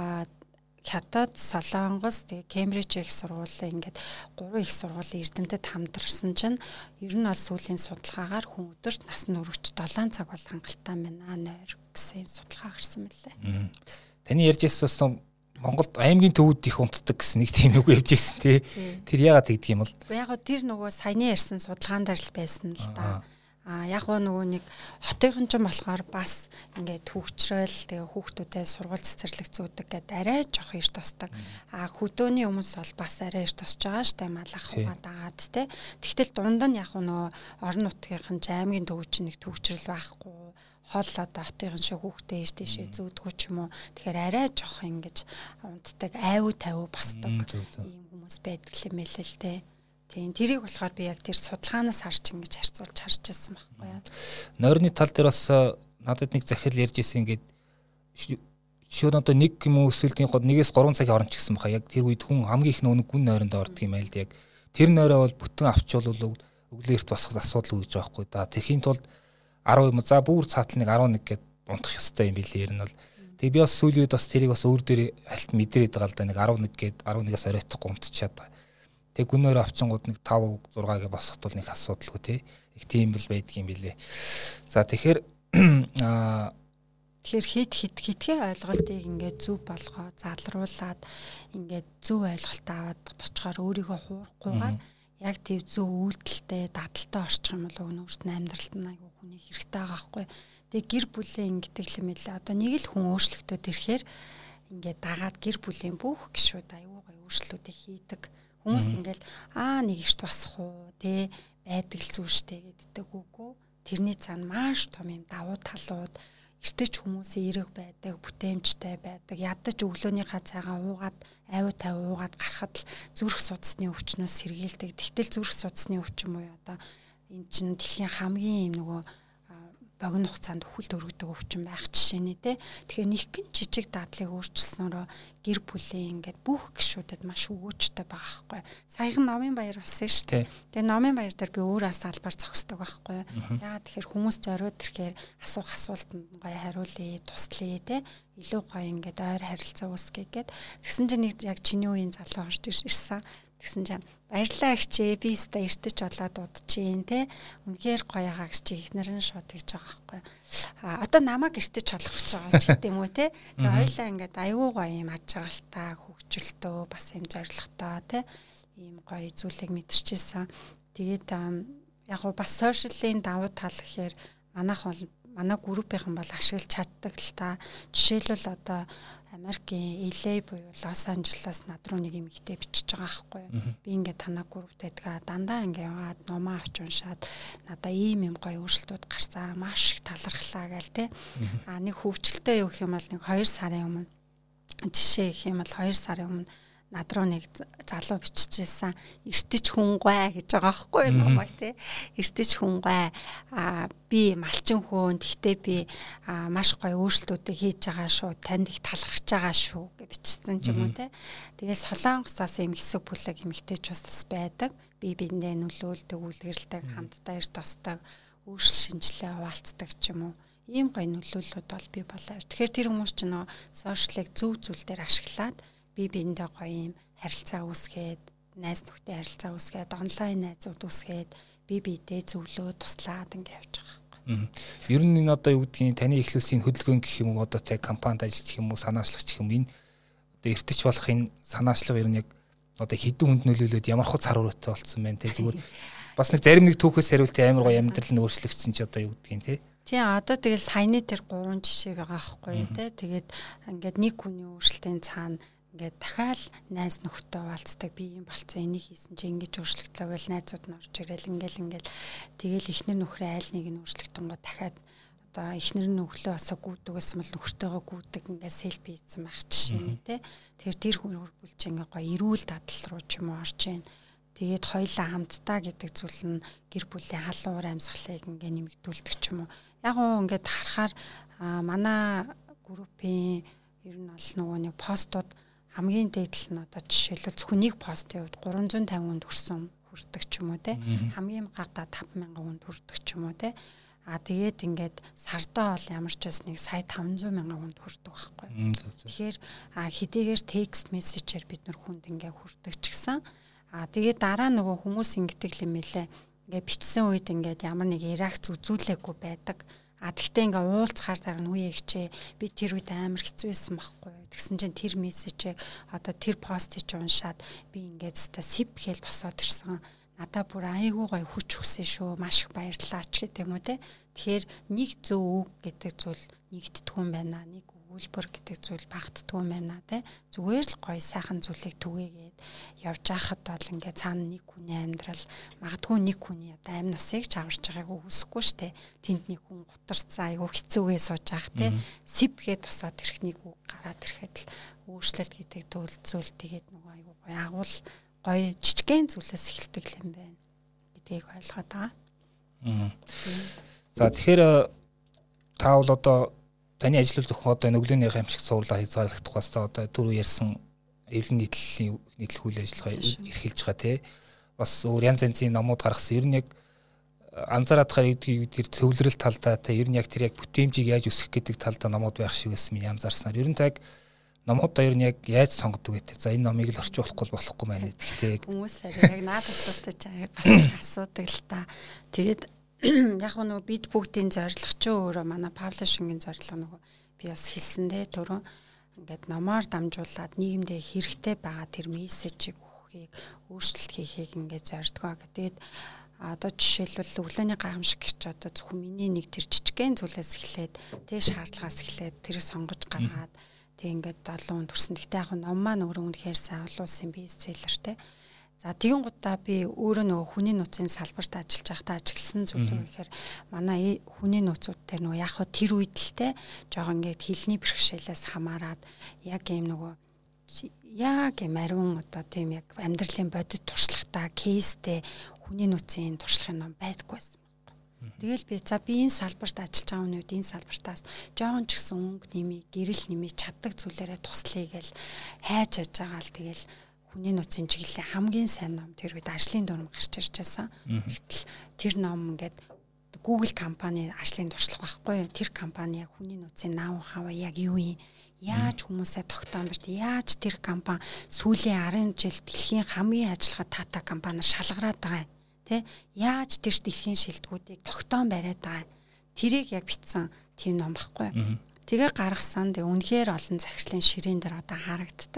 Хятад, Солонгос, тэгээ Кембриж их сургуулийн ингээд 3 их сургуулийн эрдэмтэд хамтарсан чинь ер нь бол сүүлийн судалгаагаар хүн өдөрт насны өргөж 7 цаг бол хангалттай байна нойр гэсэн юм судалгаа гарсан мэлээ. Таны ярьж ирсэн Монголд аймгийн төвүүд их унтдаг гэсэн нэг тийм үг явж ирсэн тий. Тэр яагаад тэгдэг юм бол? Яг гоо тэр нөгөө саяны ярьсан судалгаан дээр л байсан л да. Яг нөгөө нэг хотын ч юм болохоор бас ингээд төвчрөл тэгээ хүүхдүүдэд сургууль цэцэрлэг зүүдэг гэдэг арай жоох ирт тосдог. Хөдөөний хүмүүс бол бас арай ирт тосч байгаа штэ малах хугаад агаад те. Тэгтэл дунд нь яг нөгөө орон нутгийнхэн аймгийн төв чинь нэг төвчрөл байхгүй. Хол одоо хотын шиг хүүхдээ ээж тийшээ зүүдгүү ч юм уу. Тэгэхээр арай жоох ингэж унтдаг айвуу тавиу босдог ийм хүмүүс байдаг юм элэ л те. Тийм тэрийг болохоор би яг тэр судалгаанаас харж ингэж харьцуулж харж байсан байхгүй юу. Нойрны тал дээр бас надад нэг захирал ярьж ирсэн ингээд шууд одоо нэг юм өсвөлтийн гол 1-3 цагийн хооронд ч гэсэн баха яг тэр үед хүн хамгийн их нөгөө гүн нойронд ордог юм айл яг тэр нойроо бол бүтэн авчвал өглөөрт босох асуудал үүж байгаа байхгүй да. Тэхийн тулд 10 за бүр цаатал нэг 11 гэд унтах ёстой юм билээ ер нь бол. Тэгээ би бас сүүлийн үед бас тэрийг бас өөр дээр алт мэдрээд байгаа л да нэг 11 гэд 11-аас оройтохгүй унтчихад байгаа. Тэг гүнээр авчингууд нэг 5 6 гэ босоход бол нэг асуудалгүй тий. Их тийм л байдаг юм билээ. За тэгэхээр хитгэн ойлголтыг ингээд зөв болгоо залруулад ингээд зөв ойлголт аваад бочгоор өөрийгөө хуурахгүйгээр яг тийм зөв үйлдэлтэй дадалтай орчих юм бол өөрт нь амьдралд нь айгүй хүний хэрэгтэй байгаа байхгүй. Тэгээ гэр бүлийн гэдэг юм хэлээ. Одоо нэг л хүн өөрчлөлтөд ирэхээр ингээд дагаад гэр бүлийн бүх гишүүд айгүй гоё өөрчлөлтүүдийг хийдэг. Хүмүүс ингээл нэг ихт басах уу те байдаг л зүйл штэ гэддэг үгүй. Тэрний цаана маш том юм давуу талууд эртэж хүмүүсийн эрэг байдаг, бүтээмжтэй байдаг. Ядаж өглөөнийхөө цайгаа уугаад айвуу тавиу уугаад гарахад л зүрх судасны өвчнөөс сэргийлдэг. Тэгтэл зүрх судасны өвчин буюу одоо энэ чинь дэлхийн хамгийн юм нөгөө богино хугацаанд өхөлт өргөдөг өвчин байх жишээний те. Тэгэхээр нэг гин жижиг дадлыг өөрчилснөөрөө гэр бүлийн ингээд бүх гишүүдэд маш өгөөжтэй байгаа байхгүй. Саяхан Номын Баяр болсон шүү дээ. Тэгээ Номын Баяр дээр би өөрөө салбар зогсдог байхгүй. Яагаад тэгэхээр хүмүүс зориуд ирэхээр асуух асуултанд гоё хариулъя, туслая те. Илүү гоё ингээд ойр харилцаа үүсгэе гэд. Тэгсэн чинь нэг яг чиний үеийн залуу орж ирсэн. Тэгсэн чинь баярлалаа гिचээ би өстө эртэж болоод удчихин те. Үнэхээр гоё байгаа гэж ихнэр нь шууд гэж байгаа байхгүй. Одоо намайг эртэж олох гэж байгаа ч гэдэг юм уу те. Тэгээ хоёлаа ингээд аюу гоё юм аж аргалтай хөгжөлтөө бас юм зоригтой те. Ийм гоё зүйлийг мэдэрчээсэн. Тэгээд яг гоо бас сошиалын давуу тал гэхээр манай группийнхан бол ашиглаж чаддаг л та. Жишээлбэл одоо Америкийн LA буюу Лос Анжелес над руу нэг эмэгтэй бичиж байгаа байхгүй юу. Би ингээд танаа группт байдгаа дандаа ингээд яваад номоо авч уншаад надаа ийм юм гоё өөрчлөлтүүд гарсан. Маш их талархлаа гээл те. Нэг хөвчлөлтөө юу гэх юм бол нэг 2 сарын өмнө жишээ гэх юм бол 2 сарын өмнө над руу нэг залуу биччихсэн эртэж хүнгүй гэж байгаа байхгүй юу намайг те. Эртэж хүнгүй би малчин хөөн гэхдээ би маш гоё өөрчлөлтүүдийг хийж байгаа шүү. Танд их талархаж байгаа шүү гэж бичсэн ч юм уу те. Тэгэл Солонгосоос юм хэсэг бүлэг эмэгтэйч бас байдаг. Би биендээ нөлөөлдөг, үлгэрэлдэг, хамтдаа ирд тосдог, өөрчлөл шинжилгээ хуваалцдаг ч юм уу. Ийм гоё нөлөөллүүд бол би болоо. Тэгэхээр тэр хүмүүс ч нөө сошиалыг зөв зүйл дээр ашиглаад би биендээ гоё юм харилцаа үүсгээд, найз нөхдөд харилцаа үүсгээд, онлайн найзууд үүсгээд би биедээ зөвлөө туслаад ингэ явж байгаа байхгүй. Ер нь энэ одоо юу гэдгийг таны эхлүүлсэн хөдөлгөөн гэх юм уу одоо тэг компанид ажиллах юм уу, санаачлагч гэх юм энэ одоо эртэж болох энэ санаачлага ер нь яг одоо хэдэн хүнд нөлөөлөд ямар хөө цар хүрээтэй болцсон байна те зүгээр бас нэг зарим нэг түүхээс хариулт амар гоё амьдрал нь өөрчлөгдсөн чи одоо юу гэдгийг те. Тийм одоо тэгэл саяны тэр 3 жишээ байгаа байхгүй те. Тэгээд ингээд нэг хүний өөрчлөлтийн цаана ингээд дахиад найз нөхдөд уулздаг би юм болцсон энийг хийсэн чи ингэж өөрчлөгдлөө гэж найзууд нь орж ирэл ингээл тэгэл эхнэр нөхрөө айл нэг нь өөрчлөгдөн гоо дахиад одоо эхнэр нь өглөө осоо гүйдэгээс мэл нөхртөөгөө гүйдэг ингээд селфи хийсэн байх жишээ нэ те. Тэгэхээр тэр хүн бүрбүлж ингээ гоё эрүүл дадал руу ч юм уу орж ийн. Тэгээд хоёлаа хамтдаа гэдэг зүйл нь гэр бүлийн халуун амьсгалыг ингээ нэмэгдүүлдэг ч юм уу. Яг гоо ингээд харахаар манай группийн ер нь бол нөгөө нэг постууд хамгийн дээдл нь одоо жишээлбэл зөвхөн нэг постын хувьд 350 хүнд хүрдэг ч юм уу те. Хамгийн гадаа 50000 хүнд хүрдэг ч юм уу те. Тэгээд ингээд сардаа бол ямар ч бас нэг сая 500,000 хүнд хүрдэг байхгүй. Тэгэхээр хэдийгээр текст мессежээр бид нар хүнд ингээ хүрдэг ч гэсэн тэгээд дараа нөгөө хүмүүс ингэдэг юм хэлээ. Ингээ бичсэн үед ингээд ямар нэг реакц үзүүлээгүй байдаг. Тэгтээ ингээ уулзахаар дараа нь үе ихчээ би тэр үед амар хэцүү байсан байхгүй. Тэгсэн чинь тэр мессежийг одоо тэр постыг уншаад би ингээд сип хэл босоод ирсэн. Надаа бүр айгүй гоё хүч өгсөн шүү. Маш их баярлалаа ч гэдэг юм уу те. Тэгэхээр нэг зөв үг гэдэг зүйл нэгддэггүй юм байна. Нэг өгүүлбэр гэдэг зүйл багтдаггүй юм байна те. Зүгээр л гоё сайхан зүйлийг түгээгээд явж байхад бол ингээ цаана нэг хүний амьдрал магадгүй нэг хүний одоо амь насыг ч аварч байгааг үсэхгүй штэ. Тэнд нэг хүн гутарцсан айгүй хэцүүгээ сууж байх те. Сипгээд босоод ирэх нэг үг гараад ирэхэд л өөрчлөлт гэдэг зүйл тэгээд нөгөө айгүй гоё агуул гоё жижигхэн зүйлээс эхэлдэг юм байна гэдгийг ойлгоод байгаа. За тэгэхээр та бол одоо таны ажил зөвхөн одоо өглөөний аимшиг суурлаар хязгаарлагдах бас одоо түрүү ярьсан эвлэн нийтлэл үйл ажиллагаа эрхэлж байгаа тий. Бас өөр янз янзын номууд гаргасан. Ер нь яг анзаараад байгаа тэр төвлөрөл талдаа та ер нь яг тэр яг бүтээмжийг яаж өсгөх гэдэг талдаа номууд байх шиг байсан минь анзаарснаар. Ер нь та яг номуудаа ер нь яг яаж сонгодог вэ? За энэ номыг л орчуулахгүй болохгүй байна гэхдээ хүмүүс яг надад асуудаг бас асуудаг л та. Тэгээд яг нөгөө бид бүгдийн зорилго ч өөрөө манай паблишингийн зорилго нөгөө би бас хэлсэндээ түрүү ингээд номоор дамжуулаад нийгэмдээ хэрэгтэй байгаа тэр мессежийг өгөхийг өөрчлөлт хийхийг ингээд зордгоо. Тэгээд одоо жишээлбэл өглөөний гайхамшиг гэж одоо зөвхөн миний нэг тэр жижигхэн зүйлээс эхлээд тэр шаардлагаас эхлээд тэрийг сонгож гаргаад тэг ингээд 7 хүн төрсөн. Гэхдээ яг ном маань өөрөө үнэхээр сайн олуулсан бестселлертэй. За тэгин гутаа би өөрөө нөгөө хүний нөөцийн салбарт ажиллаж байхдаа ажигласан зүйл юу гэхээр манай хүний нөөцүүд дээр нөгөө яг тэр үед л те жоохон ингээд хилний бэрхшээлээс хамаарад яг юм нөгөө яг юм ариун одоо тийм яг амьдралын бодит туршлагатай кейстэй хүний нөөцийн туршлагын ном байдаггүй байсан. Тэгэл би энэ салбарт ажиллаж байгаа хүн үед энэ салбартаас жоохон ч гэсэн өнгө нэмий, гэрэл нэмий чаддаг зүйлээрээ туслая гэл хайж аж байгаа л тэгэл хүний нөөцийн чиглэлийн хамгийн сайн ном тэр үед ажлын дүрм гарч ирж байсан. Гэтэл тэр ном ингээд Google компани ажлын туршлага байхгүй. Тэр компани яг хүний нөөцийн наав хаваа яг юу юм? Яаж хүмүүсээ тогтоон барьд? Яаж тэр компани сүүлийн 10 жил дэлхийн хамгийн ажиллагаа тата компаниар шалгараад байгаа юм? Тэ? Яаж тэр дэлхийн шилдэгүүдийг тогтоон бариад байгаа юм? Тэрийг яг бичсэн тийм ном байхгүй. Тэгээ гаргасан. Үнэхээр олон захирлын ширээн дээр одоо харагддаг.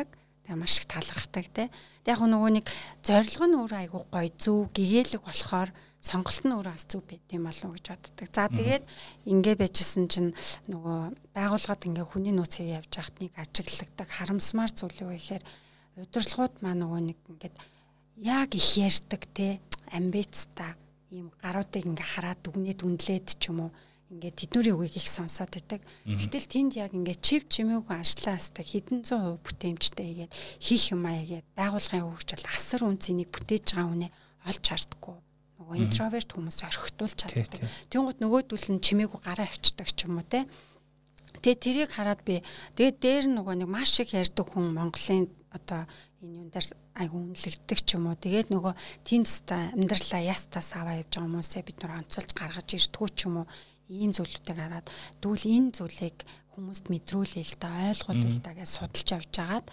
Тэгээ маш их талархдаг те. Тэг яг нөгөө нэг зорилго нь өөрөө айгүй гоё зөв гэгээлэг болохоор сонголт нь өөрөө бас зөв байд юм болов уу гэж боддог. За тэгээд ингээ байжсэн чинь нөгөө байгууллагад ингээ хүний нөөцийг явж байхад нэг ажиглагддаг харамсмаар зүйл юу гэхээр удирдлагууд маа нөгөө нэг ингээд яг их ярьдаг те амбицтай ийм гаруудыг ингээ хараад дүгнээд үнэлээд ч юм уу ингээд тэднэрийн үгийг их сонсоод байдаг. Гэтэл тэнд яг ингээд чив чимээгүй ажлаастай хэдэн зуун хувь бүтээмжтэй хийгээд хийх юм аягээд байгууллагын хөгжил асар үнцнийг бүтээж байгаа хүнээ олж хардггүй. Нөгөө интроверт хүмүүс орхитуулж чаддаг. Тэнгууд нөгөөдөл нь чимээгүй гараа авчдаг ч юм уу те. Тэгээ тэрийг хараад би тэгээд дээр нөгөө нэг маш их ярьдаг хүн Монголын одоо энэ юм дээр айгу үнэлэгддэг ч юм уу. Тэгээд нөгөө тэнцтэй амьдралаа ястаас аваа явж байгаа хүмүүсээ бид нар онцолж гаргаж ирдгүү ч юм уу. Ийм зүйлүүдийг хараад тэгвэл энэ зүйлийг хүмүүст мэдрүүлээ л да ойлгуулъя л да гэж судалж явж агаад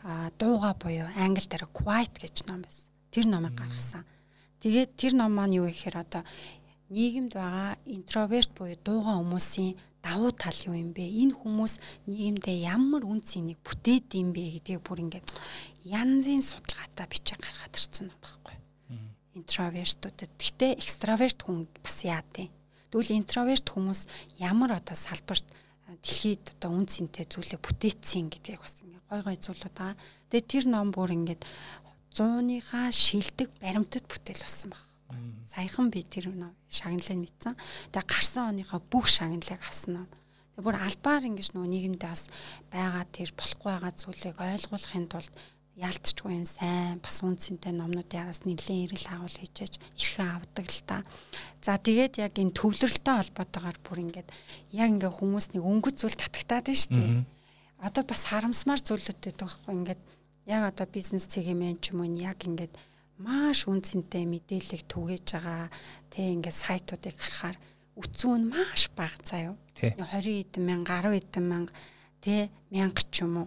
дууга буюу англи дээр quiet гэж ном байсан. Тэр номыг гаргасан. Тэгээд тэр ном маань юу гэхээр одоо нийгэмд байгаа интроверт буюу дууга хүмүүсийн давуу тал юу юм бэ? Энэ хүмүүс нийгэмдээ ямар үн цэнийг бүтээд юм бэ гэдгийг бүр ингээд янзын судалгаатай бичиж гаргаад ирсэн юм байхгүй. Интровертуудад. Гэхдээ экстраверт хүн бас яа тийм. Тэгвэл интроверт хүмүүс ямар одоо салбарт дэлхийд одоо үн цэнтэй зүйлээ бүтээцсэн гэдгийг бас ингээ гой гой зүйлүүд байгаа. Тэгээд тэр ном бүр ингээд 100-ийнхаа шилдэг баримтат бүтээл болсон баг. Саяхан би тэр шагналыг мэдсэн. Тэгээд гарсан оныхоо бүх шагналыг авсан ном. Тэгээд бүр албаар ингэж нөгөө нийгэмдээ бас байгаа тэр болохгүй байгаа зүйлийг ойлгуулахын тулд яалтчгүй юм сайн бас үнцэнтэй номнуудын араас нэлийн эрэл агуул хийжээж эрхэн авдаг л та. За тэгээд яг энэ төвлөрөлтөй холбоотойгоор бүр ингээд яг ингээ хүмүүс нэг өнгөц зүйл татагтаад байна шүү дээ. Одоо бас харамсмаар зүйлүүд байдаг байхгүй ингээд яг одоо бизнес цэгийн ч юм уу яг ингээд маш үнцэнтэй мэдээлэл түгээж байгаа тэг ингээд сайтуудыг харахаар үцүүн маш бага заяа. 20 эдэн мянга 10 эдэн мянга тэг 1000 ч юм уу.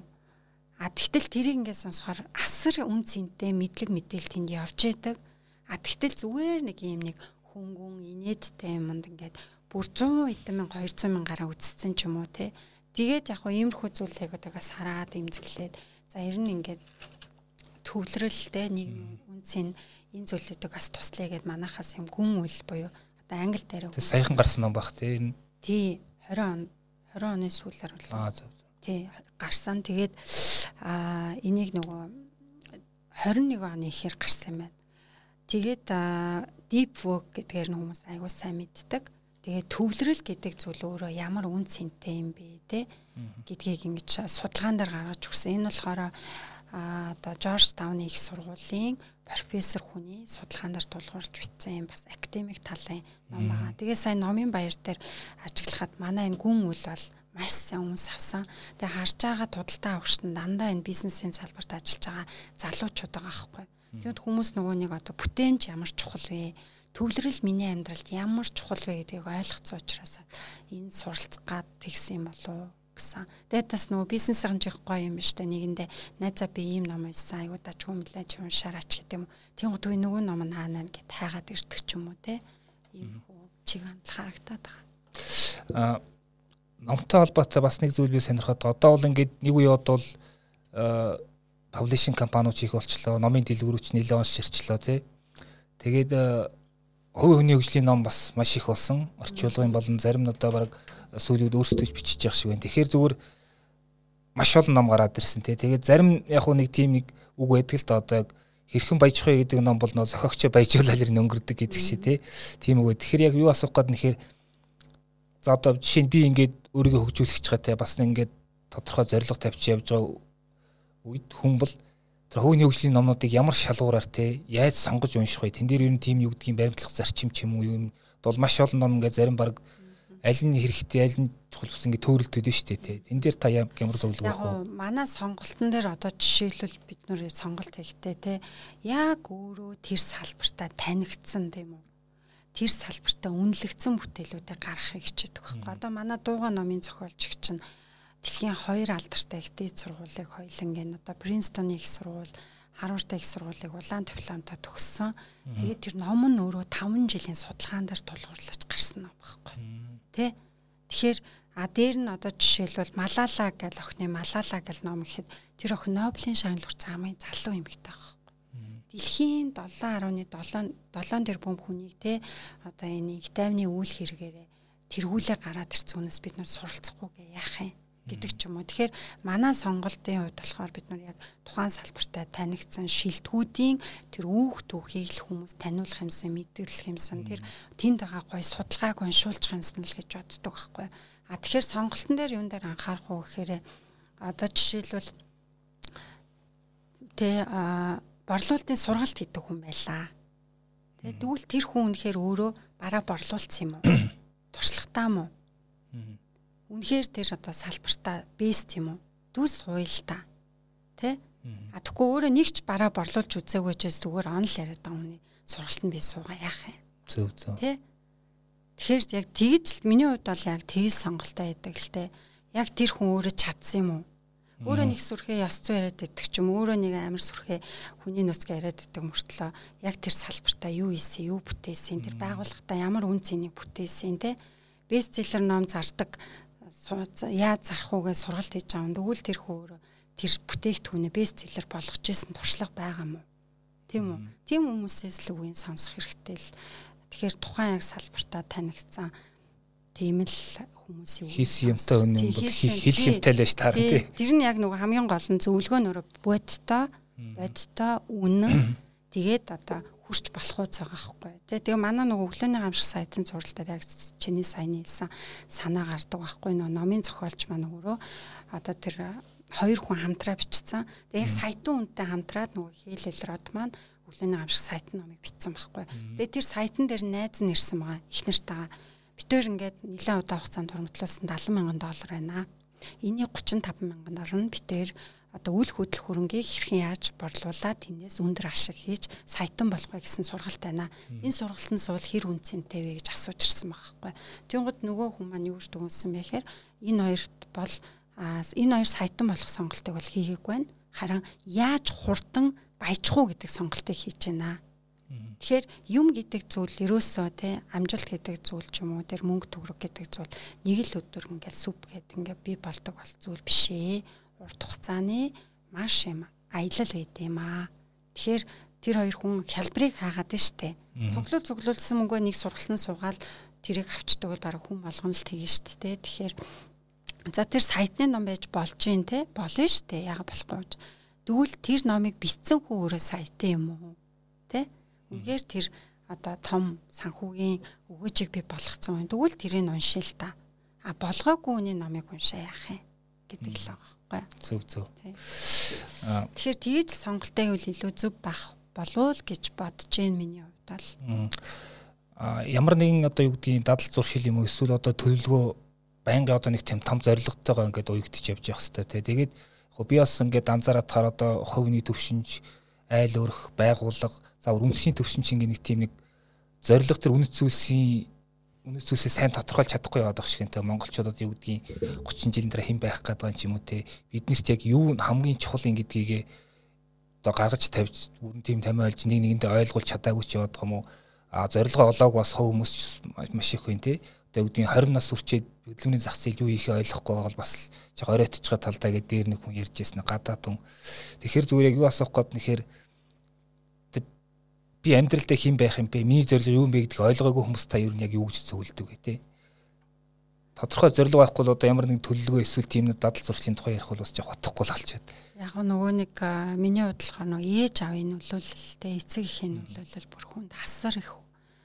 Тэгтэл тэрийг ингээд сонсохоор асар үн цэнтэй мэдлэг мэдээлэл тэнд явж идэг. Тэгтэл зүгээр нэг юм нэг хөнгөн инээдтэй юмд ингээд бүр 100 эдэн мянга 200 мянгаараа үзсэн ч юм уу те. Тэгээд яг хөө иймэрхүү зүйлийг одоогоос хараад имзэглээд за ер нь ингээд төвлөрөлтэй нийгмийн үнцэн энэ зүйлүүдийг бас туслая гэд манайхаас юм гүн үйл буюу одоо англи дээр саяхан гарсан ном баг те. Тий 20 оны сүүлээр бол. Тий гарсан. Тэгээд энийг нөгөө 21 оны ихэр гарсан юм байна. Тэгээд deep work гэдгээр нь хүмүүс аягүй сайн мэддэг. Тэгээд төвлөрөл гэдэг зүйл өөрөө ямар үн цэнтэй юм бэ те гэдгийг ингэж судалгаан дээр гаргаж өгсөн. Энэ болохоор одоо Georgetown-ы их сургуулийн профессор хүний судалгаан дээр тулгуурж бичсэн юм бас академик талын ном байгаа. Тэгээд сая номын баяр дээр ажиглахад манай энэ гүн үйл бол маш сайн хүмүүс авсан. Тэгээ харж байгаа худалдаа авагчид дандаа энэ бизнесийн салбарт ажиллаж байгаа залуучууд байгаа байхгүй. Тэгэд хүмүүс нөгөө нэг одоо бүтээмж ямар чухал вэ? Төвлөрөл миний амьдралд ямар чухал вэ гэдгийг ойлгоцсон учраас энэ суралцгаад тэгсэн юм болов гэсэн. Тэгээд бас нөгөө бизнес хэмжих гоё юм шүү дээ. Нэгэндээ найзаа би ийм ном уншсан. Айгуу даж хүмлэж уншаараач гэдэг юм. Тийм үгүй нөгөө ном нь хаана гэд хайгаад ирдэг ч юм уу те. Ийм хөө чиг хандлага харагдаад байгаа. Номтой холбоотой бас нэг зүйл би сонирхоод одоо бол ингээд нэг үе бодвол паблишинг компаниуч их болчлоо. Номын дэлгүүрүүч нэлээд онш ширчлээ тий. Тэгээд хувийн хүний хөгжлийн ном бас маш их болсон. Орчуулгын болон зарим нь одоо баг сүүлүүд өөрсдөө бичиж явах шиг байна. Тэгэхээр зүгээр маш олон ном гараад ирсэн тий. Тэгээд зарим яг нэг тийм нэг үг байдаг л да одоо хэрхэн баяжих вэ гэдэг ном бол нөө зохиогчоо баяжуулаад ирнэ өнгөрдөг гэдэг шиг тий. Тийм үгүй. Тэгэхээр яг юу асуух гээд нэхэр за одоо жишээ нь би ингээд өөрийгөө хөгжүүлэх чагатай бас ингээд тодорхой зорилго тавьчих явж байгаа үед хүн бол тэр хувийн хөгжлийн номнуудыг ямар шалгуураар те яаж сонгож унших вэ? Тэн дээр ер нь тийм юу гэдгийг баримтлах зарчим ч юм уу юм бол маш олон ном ингээд зарим баг аль нь хэрэгтэй аль нь чухал ус ингээд төөрөлдөд нь шүү дээ те. Тэн дээр та ямар зөвлөгөө өгөх вэ? Манай сонголтын дээр одоо жишээлбэл бид нэр сонголт хийхдээ те яг өөрөө тэр салбартаа танигдсан тийм үү? Тэр салбартаа үнэлэгдсэн бүтээлүүдийг гаргахыг хичээдэг байхгүй. Одоо манай дууга номын зохиолч чинь дэлхийн 2 алдартай ихтэй сургуулийг хоёулангийн одоо Принстон их сургууль, Харвард их сургуулийг улаан дипломтой төгссөн. Тэгээд тэр ном нь өөрөө 5 жилийн судалгаан дээр тулгуурлаж гарсан ном байхгүй. Тэ? Тэгэхээр А дээр нь одоо жишээлбэл Малала гэл охины Малала гэл ном ихэд тэр охин Нобелийн шагнал хүртсэн хамгийн залуу эмэгтэй байгаа. Дэлхийн 7.7 тэрбум хүнийг те одоо энэ их тайвны үйл хэрэгээрээ тэргүүлээ гараад ирсэн хүнээс бид нар суралцахгүйгээ яах юм гэдэг ч юм уу. Тэгэхээр манай сонголтын хувьд болохоор бид нар яг тухайн салбартай танигдсан шилдэгүүдийн тэр түүхийг л хүмүүс таниулах юмсан, мэдээлэх юмсан, тэр тэнд байгаа гой судалгааг уншуулчих юмсан л гэж боддог байхгүй. А тэгэхээр сонголтын дээр юун дээр анхаарах уу гэхээр одоо жишээлбэл борлуулалтын сургалт хийдэг хүн байлаа. Тэгвэл тэр хүн үнэхээр өөрөө бараа борлуулсан юм уу? Туршлагатай юм уу? Үнэхээр тэр одоо салбартаа бэст юм уу? Дүс хуйлтаа. Тэ? А тэгэхгүй өөрөө нэг ч бараа борлуулж үзээгүй ч зүгээр онл яриад байгаа хүний сургалтанд би суугаа яах юм? Зөв. Тэ? Тэгэхээр яг тэгж миний хувьд бол яг тэгж сонголтоо яадаг л тэ. Яг тэр хүн өөрөө чадсан юм уу? Өөрөө нэг сүрхээ ёс зүй яриад байдаг ч юм өөрөө нэг амар сүрхээ хүний нөөцгөө яриад байдаг мөртлөө яг тэр салбартаа юу ийсэн, юу бүтээсэн, тэр байгууллагатаа ямар үн цэнийг бүтээсэн тэ. Бестселлер ном зардаг яаж зарах уугээ сургалт хийж байгаа юм. Тэгвэл тэр өөрөө тэр бүтээгдэхүүнээ бестселлер болгож исэн туршлага байгаа мó. Тийм үү? Тийм хүмүүсээс л үгийн сонсох хэрэгтэй л. Тэгэхээр тухайн яг салбартаа танигдсан тийм л хүмүүсийн хийсэн юмтай өнөө бол хэлэх юмтай л байж таар тий. Тэр нь яг нөгөө хамгийн гол нь зөвлөгөөнөөр бодтой үнэн тэгээд одоо хүрч болох уу байгаа байхгүй. Тэгээ манай нөгөө өглөөний гамшиг сайтын зураг дээр яг чиний саяны хэлсэн санаа гардаг байхгүй. Нөгөө номын зохиолч маань өөрөө одоо тэр хоёр хүн хамтраа бичсэн. Тэгээ яг сайтын үнэтэй хамтраад нөгөө хийлэл род маань өглөөний гамшиг сайтын номыг бичсэн байхгүй. Тэгээ тэр сайтан дээр найз нь ирсэн байгаа. Их нартайгаа битээр ингээд нэлээд удаа хугацаанд хурмтлуулсан $70,000 байна. Энийг $35,000 нь битээр одоо үйл хөдлөх хөрөнгийг хэрхэн яаж борлуулаад тэрнээс өндөр ашиг хийж сайтан болох вэ гэсэн сургалт байна. Энэ сургалтанд суул хэр үнцэнтэй вэ гэж асууж ирсэн байгаа байхгүй. Тэнгууд нөгөө хүн маань юу гэж дүгнсэн бэ гэхээр энэ хоёр сайтан болох сонголтыг бол хийгээгүй байна. Харин яаж хурдан баяжих уу гэдэг сонголтыг хийж байна. Тэгэхээр юм гэдэг зүйл ерөөсөө те амжилт гэдэг зүйл ч юм уу тэр мөнгө төгрөг гэдэг зүйл нэг л өдөр ингээл сүп гэдэг ингээ би болдог бол зүйл биш ээ. Урт хугацааны маш юм аялал байд юм аа. Тэгэхээр тэр хоёр хүн хялбарыг хаагаад нь штэ. Цуглуулсан мөнгөө нэг сургалтанд суугаад тэрийг авчдаг бол бараг хүн болгоно л тэгэн штэ. Тэгэхээр за тэр сайтны ном байж болж гин те болно штэ. Яга болохгүй. Тэгвэл тэр номыг бичсэн хүн өөрөө сайтан юм уу? Тэ? Үнэхээр тэр одоо том санхүүгийн өгөөжийг би болгоцсон юм. Тэгвэл тэрийг уншил та. А болгоогүй хүний номыг уншаа яах юм гэдэг л байгаа байхгүй. Зөв. Тэгэхээр тгийж сонголтыг үл илүү зөв байх болов гэж бодож байна миний хувьд бол. Ямар нэгэн одоо юу гэдгийг дадал зуршил юм уу эсвэл одоо төлөвлөгөө байнга одоо нэг тийм том зорилготойгоо ингээд уягдчих явж явах хэрэгтэй тий. Тэгээд би бас ингээд анзаараад таар одоо хувийн төвшинж айл өрх байгууллага заавар үндэсний төвшинч ингээд нэг тийм нэг зорилго төр үнэт зүйлсээ сайн тодорхойлж чадахгүй яваад байгаа шиг энэ монголчуудад юу гэдгийг 30 жилийн дараа хэн байх гэдэг юм уу те биднэрт яг юу хамгийн чухал юм гэдгийг одоо гаргаж тавьж бүрэн тийм томьёолж нэг нэгэндээ ойлгуулж чадаагүй ч яваад байгаа юм уу зорилгоо олоог бас хов хүмүүс маш их байна те одоо юу гэдгийг 20 нас хүрчээд хөдөлмөрийн зах зээл юу ихээ ойлгохгүй байгаа бол бас жоо оройтж байгаа талдаа гэдэг дээр нэг хүн ярьж ирсэн гадаад хүн тэгэхээр зүгээр яг юу асуух гээд нэхэр би амьдралдаа хэн байх юм бэ? Миний зорилго юу юм бэ гэдгийг ойлгоогүй хүмүүс та юу яг юу гэж зөвлөдөг гэ тэ. Тодорхой зорилго байхгүй бол одоо ямар нэг төлөвлөгөө эсвэл тийм нэг дадал зуршлын тухай ярих бол бас жоо хотохгүй л алчаад. Яг нөгөө нэг миний хувьд болохоор нөгөө ээж аавын нөлөөлөлтэй эцэг эхийн нөлөөлөл бүр хүнд хасар их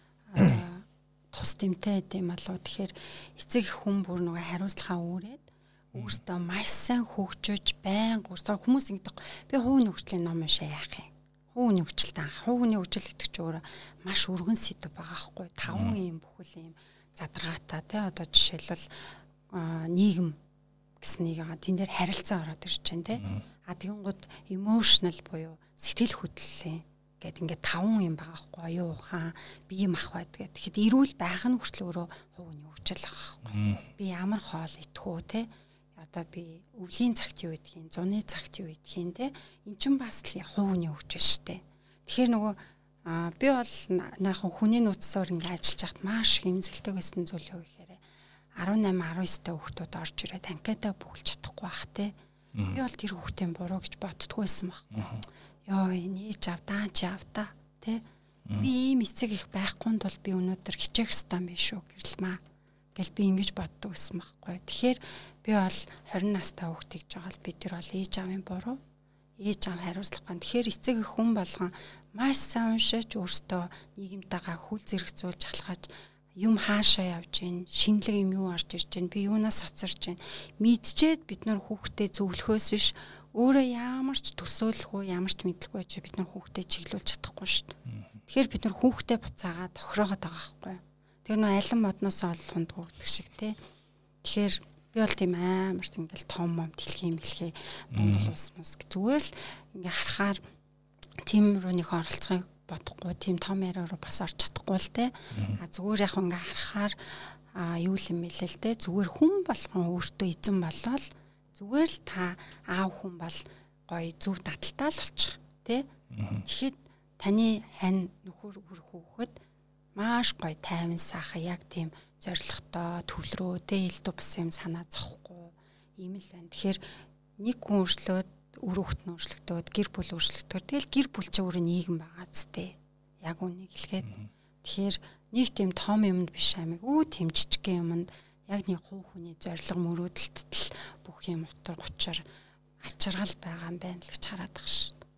тус тэмтэй гэдэм болов. Тэгэхээр эцэг их хүн бүр нөгөө хариуцлагаа үүрээд өөртөө маш сайн хөгжиж байнга хүмүүс ингэдэг. Би хувийн хөгжлийн ном уншаа яах юм? Хүүний хөгжил гэдэг чинь өөрөө маш өргөн сэдв байгаа хгүй 5 юм бүхэл юм задаргаатай тий одоо жишээлбэл нийгэм гэсэн нэг байгаа тэн дээр харилцаа ороод ирж байна тий тэгэнгүүт emotional буюу сэтгэл хөдлөлийн гэдэг ингээд 5 юм байгаа хгүй оюун ухаан бие махбод гэдэг. Тэгэхэд эрүүл байх нь хүртэл өөрөө хувийн хөгжил байгаа хгүй би ямар хоол идэх үү тий одоо би өвлийн цагт юу идэх юм, зуны цагт юу идэх юм те. Эн чинь бас л хувийн хөгжил штэ. Тэгэхээр нөгөө би бол наахан хүний нөөцөөр ингээ ажиллаж байхад маш их эмзэлтэй байсан зүйл юу гэхээр 18 19-тай хүүхдүүд орж ирээд анкетаа бүгэлж чадахгүй байх те. Би бол тэр хүүхдийн буруу гэж боддгоо байсан байхгүй. Йоо нээж авдаа чи авдаа те. Би ийм эцэг их байхгүй тул би өнөөдөр хичээх ёстой юм биш үү гэрлмаа. Гэл би ингэж боддог байсан байхгүй. Тэгэхээр би бол 20 настай хүүхдийг жагаал би тэр бол ээж аавын буруу. Ээж аав хариуцлахгүй. Тэгэхээр эцэг их хүн болгон маш сайн уншиж өөртөө нийгэмтэйгээ хүл зэрэгцүүлж халахаж юм хаашаа явж гин шинэлэг юм юу орж ирж гин би юунаас хоцорж гин мэдчихэд бид нар хүүхдээ зөвлөхөөс биш өөрөө ямар ч төсөөлөхгүй ямар ч мэдлэхгүй ч бид нар хүүхдээ чиглүүлж чадахгүй шүү дээ. Тэгэхээр бид нар хүүхдээ буцаагаад тохироогоод байгаа байхгүй. Тэр нөө алин модноос олохонд хүрдэг шиг те. Тэгэхээр би бол тийм амар ингээл том дэлхийн мэлхий Монгол улс мус зүгээр л ингээ харахаар тийм рүүнийх оролцохыг бодохгүй тийм том яриа руу бас орч чадахгүй л те. Зүгээр яг ингээ харахаар юу юм бэ л те. Зүгээр хүн болгон өөртөө эзэн болол зүгээр л та аав хүн бол гоё зөв дадалтай л болчих те. Тэгэхэд таны хань нөхөр хүүхэд маш гоё тайван сайхан яг тийм зоригтой төвлөрөө те элдв бус юм санаа зовхгүй ийм л байна. Тэгэхээр нэг хүн өөрчлөөд үр хүүхэд нь өөрчлөгдөөд гэр бүл өөрчлөгдөөр тэгэл гэр бүл чинь өөрөө нийгэм байгаа зү. Яг үнийг хэлгээд. Тэгэхээр нэг тийм том юмд биш амиг тийм жижигхэн юмд яг нэг хувь хүний зориг мөрөөдөлтөд л бүх юм утга учир ачиргал байгаа юм байна л гэж хараад байгаа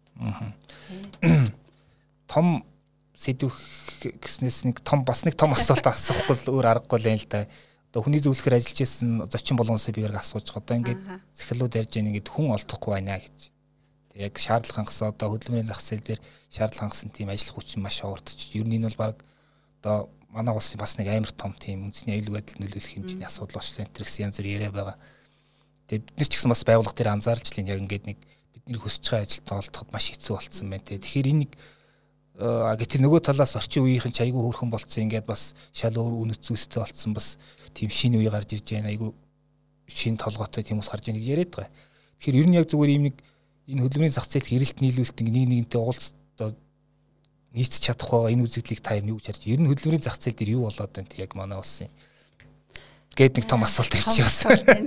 шүү. Том сэдвэх гэснээс нэг том бас нэг том асуулт асуухгүй л өөр аргагүй л юм л да. Одоо хүний зөвлөхөр ажиллаж исэн зочин болгоноос би яг асууж байгаа. Одоо ингээд захирлууд ярьж байгаа ингээд хүн олдохгүй байна гэж. Тэг яг шаардлага хангасан одоо хөдөлмөрийн зах зээл дээр шаардлага хангасан тийм ажил хүчин маш овоордчих. Ер нь энэ бол баг одоо манай улсын бас нэг амар том тийм үндэсний аюулгүй байдал нөлөөлөх хэмжээний асуудал болчихлоо. Энэ гэсэн янз бүр яриа байгаа. Тэг бид нар ч гэсэн бас байгууллага дээр анзаарч л яг ингээд нэг бидний хүсэж байгаа ажилд олдоход маш хэцүү болцсон байна те. Тэгэхээр энэ нэг гэтэл нөгөө талаас орчин үеийнхэн ч айгүй хөөрхөн болцсон ингээд бас шал өөр үнэт зүйлстэй болцсон бас тийм шинэ үе гарч ирж байна айгүй шинэ толгойтой тийм ус гарч ийн гэж яриад байгаа. Тэгэхээр ер нь яг зүгээр ийм нэг энэ хөдөлмөрийн зах зээлд эрэлт нийлүүлэлт нэг нэгнтэй уулз нийцэж чадах байгаа энэ үзэгдлийг та юу гэж харж ер нь хөдөлмөрийн зах зээл дээр юу болоод байна те яг манай улсын гээд нэг том асуулт тавьчихсан.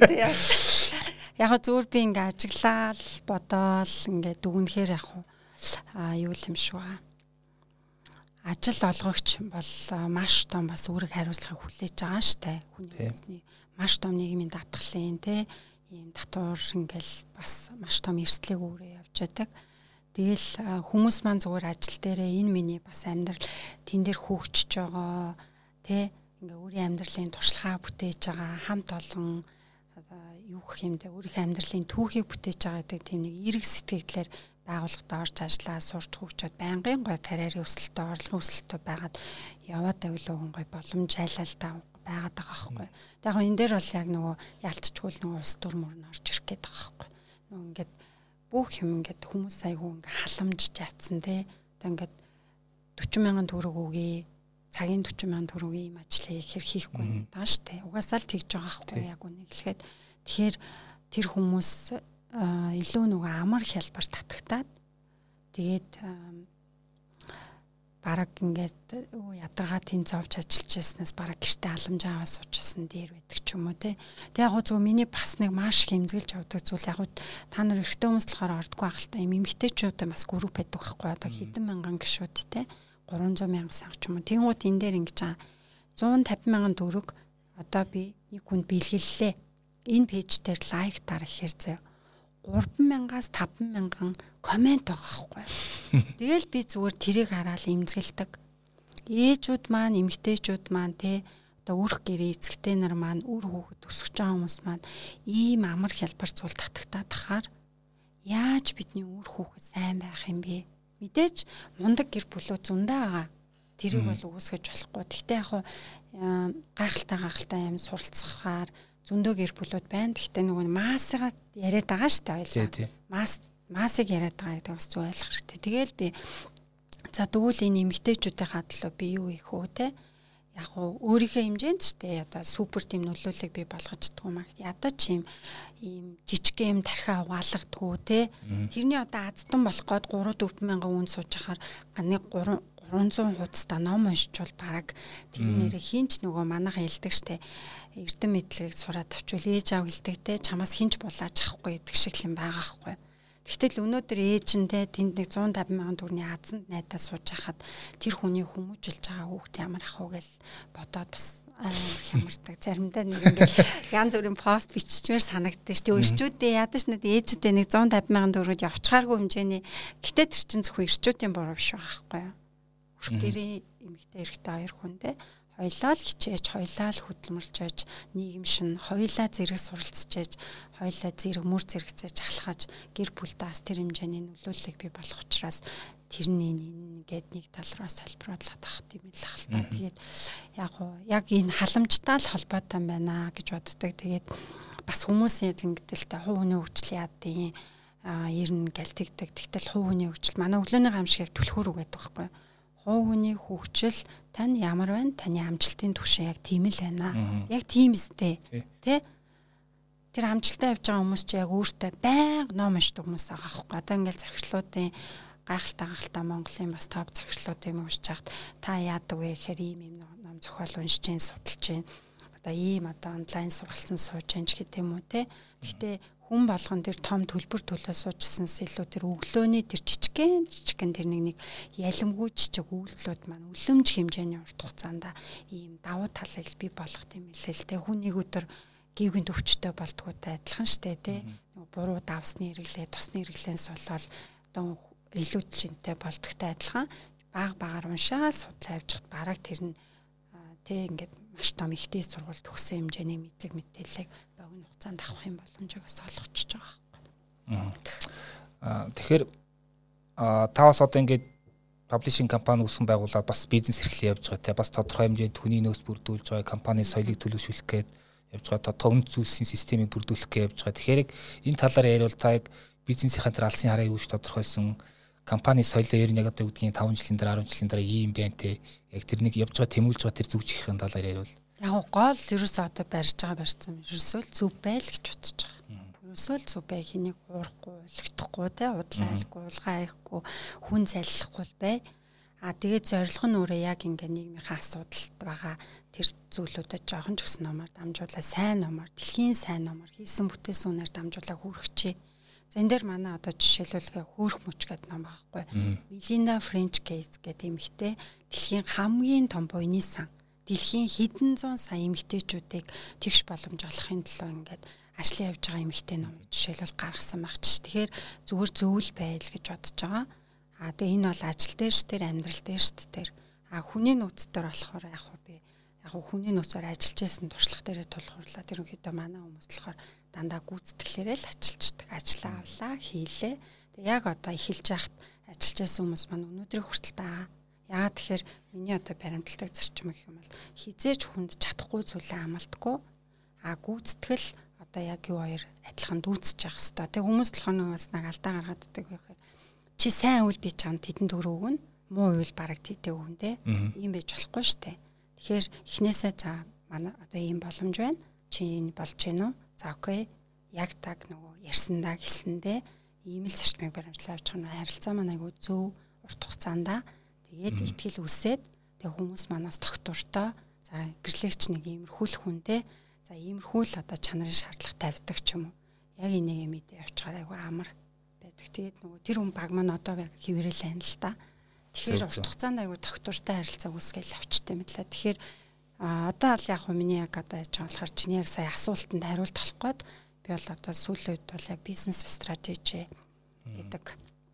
Яг зүгээр би ингээ ажиглал бодоол ингээ дүгнэхээр яг юу юм шүү аа. Ажил олгогч бол маш том бас үүрэг хариуцлагыг хүлээж байгаа штэ. Хүний маш том нийгмийн татгалын те ийм татвар ингээл бас маш том эрсдлийг өөрөө явж байдаг. Тэгэл хүмүүс маань зүгээр ажил дээрээ энэ миний бас амьдрал тэн дээр хөгжиж байгаа те ингээ өөрийн амьдралын туршлагаа бүтээж байгаа хамт олон юу гэх юм бэ өөрийнхөө амьдралын түүхийг бүтээж байгаа гэдэг тийм нэг эрг сэтгэлээр байгууллагад орж ажиллаа сурч хөгжөөд байнгын гой карьерийн өсөлтөд орлогын өсөлтөд байгаад яваад байвал гой боломж айлалтай байгаад байгаа байхгүй. Яг энэ дээр бол яг нөгөө ялцчгүй нөгөө ус дүр мөр нь орж ирэх гээд байгаа байхгүй. Нөгөө ингээд бүх юм ингээд хүмүүс айгүй ингээд халамжж яатсан те. Одоо ингээд 40,000 төгрөг өгье. Цагийн 40,000 төгрөг ийм ажлыг хэр хийхгүй юм даа штэ. Угаасаа л тэгж байгаа байхгүй яг үнийг хэлэхэд. Тэгэхээр тэр хүмүүс илүү нөгөө амар хялбар татагтаад тэгээд бараг ингээд ядаргаа тэн зовж ажиллаж яснаас бараг гэртээ халамж аваа суучсан дээр байдаг ч юм уу те. Тэг яг зөв миний бас нэг маш хэмзгэлж авдаг зүйл яг та нар эрэгтэй хүмүүс болохоор ордгоо ахaltaа юм эмэгтэйчүүдээ бас групп байдаг байхгүй одоо хэдэн мянган гишүүд те 300,000 сая ч юм уу. Тэнгууд энэ дээр ингэж 150,000 төгрөг одоо би нэг хүнд бэлгэллээ. Энэ пэйж дээр лайк дараа ихээр заяа 3,000-аас 5,000 комент байгаа байхгүй. Тэгэл би зүгээр тэрийг хараад имзгэлдэг. Ээжүүд маань, эмэгтэйчүүд маань те одоо үрх гэрээ эцэгтэй нар маань үр хүүхэд өсөж байгаа хүмүүс маань ийм амар хялбар зүйл татагтаад тахаар яаж бидний үр хүүхэд сайн байх юм бэ? Мэдээж мундаг гэр бүлөө зөндөө байгаа. Тэрийг бол үүсгэж болохгүй. Гэхдээ яг гайхалтай юм суралцахаар зөндөө гэр бүлүүд байна. Гэхдээ нөгөө маасыгаа яриад байгаа шүү дээ ойлаа. Масыг яриад байгаа гэдэг бас зөв ойлгох хэрэгтэй. Тэгээл би за тэгвэл энэ эмэгтэйчүүдийн хадлаа би юу их үү те? Яг өөрийнхөө хэмжээнд ч те одоо супер тим нөлөөллийг би болгож чаддгүй маа. Ядаж ийм жижиг юм тархиа угаалгадгүй те. Тэрний одоо аздан болох гээд 3-4 мянган үн сууж ахаар нэг 3 300 хуудастай ном уншиж бол бараг тэр нэрээ хинч нөгөө манайхан хэлдэг штэ эрдэм мэдлэгийг сураад авчвал ээж аав хэлдэг те чамаас хинч булааж авахгүй гэдэг шиг юм байгаа байхгүй. Тэгтэл өнөөдөр ээжэндээ тэнд нэг 150 мянган төгрөгийн азанд найдаа сууж хахад тэр хүний хүмүүжүүлж байгаа хүүхд ямар ах вэ гэж бодоод бас хямардаг. Заримдаа нэг ингээд янз бүрийн пост биччихмээр санагддаг шүү дээ. Ирчүүдээ ядаж нэг ээжүүдээ нэг 150 мянган төгрөгөд явчихааргүй хэмжээний гэтээ тэр чинь зөвхөн ирчүүдийн буруу биш байхгүй юу? Гэрийн эмэгтэй эрэгтэй хоёр хүндээ хоёлаа л хичээж, хоёлаа л хөдөлмөрлж, нийгэм шин, хоёлаа зэрэг суралцж, хоёлаа зэрэг мөр зэрэгцээж ахлахаж гэр бүлдээ бас тэр хэмжээний нөлөөллийг бий болох учраас тэрний ингээд нэг тал руу салбируулах тахт юм л хальтаа. Тэгээд яг энэ халамжтай л холбоотой байна гэж боддог. Тэгээд бас хүмүүсийн ингэдэл та хувь хүний хөгжил яадын ерэн гэлтэгдэг. Тэгтэл хувь хүний хөгжил манай өглөөний гамшиг түлхүүр үгээд байгаа байхгүй. Хувь хүний хөгжил тань ямар байна? Таны амжилтын түвшин яг тийм л байна. Яг тийм үстэй. Тэ? Тэр амжилтаа явж байгаа хүмүүс чи яг өөртөө байнга ном уншдаг хүмүүс байгаа байхгүй. Одоо ингээл захирлуудын гайхалтай Монголын бас топ захирлуудын юм уншиж хахад та яадаг вэ гэхээр ийм ном зохиол уншиж гин судалж гин. Одоо ийм одоо онлайн сургалцсан сууж гин ч гэдэг юм уу те. Гэхдээ хүн болгон тэр том төлбөр төлөө суужсанс илүү тэр өглөөний тэр жижигхэн тэр нэг ялимгүй жижиг үйлдэлүүд маань үлэмж хэмжээний урт хугацаанд ийм давуу талыг бий болгох юм хэлээ л те. Хүнийг өдөр гівгийн төвчтэй болдгоотой адилхан штэ те. Буруу давсны хэрэглээ, тосны хэрэглээс болоод одоо илүү жинтэй болдогтой адилхан баг-багаар уншаал судлаа явжихад бараг тэр нь тэ ингээд маш том ихтэй сургууль төгссөн хэмжээний мэдлэг мэдээллийг богино хугацаанд авах юм боломжийг бас олгочихж байгаа байхгүй. Тэгэхээр та бас одоо ингээд паблишинг компани үүсгэн байгуулад бас бизнес эрхлээ явж байгаа те бас тодорхой хэмжээнд хүний нөөц бүрдүүлж байгаа компани соёлыг төлөвшүүлэх гээд явж байгаа тодорхой үнэт зүйлсийн системийг бүрдүүлэх гээд явж байгаа. Тэгэхээр энэ талаар яриул та яг бизнесийн тэр алсын хараа юу гэж тодорхойлсон компани соёлоо ер нь яг одоо үгдгийн 5 жилийн дараа 10 жилийн дараа ийм байна те яг тэр нэг явж байгаа тэмүүлж байгаа тэр зүг чихийн талаар яриул. Яг гол ерөөсөө одоо барьсан ерөөсөө л зөв байл гэж бодож байгаа. Ерөөсөө л зөв бай хэнийг уурахгүй, өлгөхгүй те удлаалгүй, улгайхгүй, хүн заллахгүй бай. Тэгээд зорилго нь өөрөө яг ингээ нийгмийнхаа асуудалд байгаа тэр зүйлүүдэд жоохон ч гэсэн номоор дамжуулаа сайн номоор, дэлхийн сайн номоор хийсэн бүтээсэн үнээр дамжуулаа хүргэчээ. За энэ дээр манай одоо жишээлбэл хөөрх мөч гэдэг ном байхгүй. Melinda French Gates гэдэг эмэгтэй дэлхийн хамгийн том буйны сан. Дэлхийн хэдэн зуун сая эмэгтэйчүүдийг тэгш боломж олохын төлөө ингээд ажлын явж байгаа эмэгтэй ном жишээлбэл гаргасан багч. Тэгэхээр зүгээр зөвл байл гэж бодож байгаа. Тэгээ энэ бол ажил дээр ш тэр амьдрал дээр ш тэр. Хүний нөөцдөр болохоор яг би хүний нөөцөөр ажиллаж байсан туршлага дээр тулгуурлаад ерөнхийдөө манай хүмүүс болохоор дандаа гүйцэтгэлээрээ л ажиллаждаг. Ажлаа авлаа, хийлээ. Тэг яг одоо эхэлж яхад ажиллаж байсан хүмүүс маань өнөөдрийн хүртэл байгаа. Яагаад тэгэхээр миний одоо баримтлагдаг зарчим гэх юм бол хизээж хүнд чадахгүй зүйлээ амлдаггүй. Гүйцэтгэл одоо яг юу хоёр адилхан дүүцэж явах хэрэгтэй. Тэг хүмүүс толгойн бас нэг алдаа гаргаад ддаг байхаар чи сайн үйл би чамд хэдэн төгрөг өгнө, муу үйл бараг тэтэй өгнө те. Ийм байж болохгүй штэ. Тэгэхээр эхнээсээ за манай одоо ийм боломж байна. Чи энэ болж гэнэ үү? За окей. Яг так нөгөө ярьсандаа хэлсэндээ ийм л зарчмыг баримтлаа авч байгаа харилцаа маань айгүй зөв урт хугацаанд тэгээд ихтгэл үсээд тэг хүмүүс манаас тогтвортой за гэрлэгч нэг иймэрхүүлэх хүнтэй за иймэрхүүл одоо чанарын шаардлага тавьдаг ч юм уу. Яг энийг мэдээ явуулчихаар айгүй амар байдаг. Тэгээд нөгөө тэр хүн баг маань одоо хэвээрэл байна л та. Тэгэхээр урт хугацаанд айгүй тогтвортой харилцаа үүсгээл авчтай мэдлээ. Тэгэхээр одоо л яг миний яг одоо яаж байгаа болохоор чиний яг сая асуултанд хариулт олох гээд би бол одоо сүүлийн үед бол яг бизнес стратеги гэдэг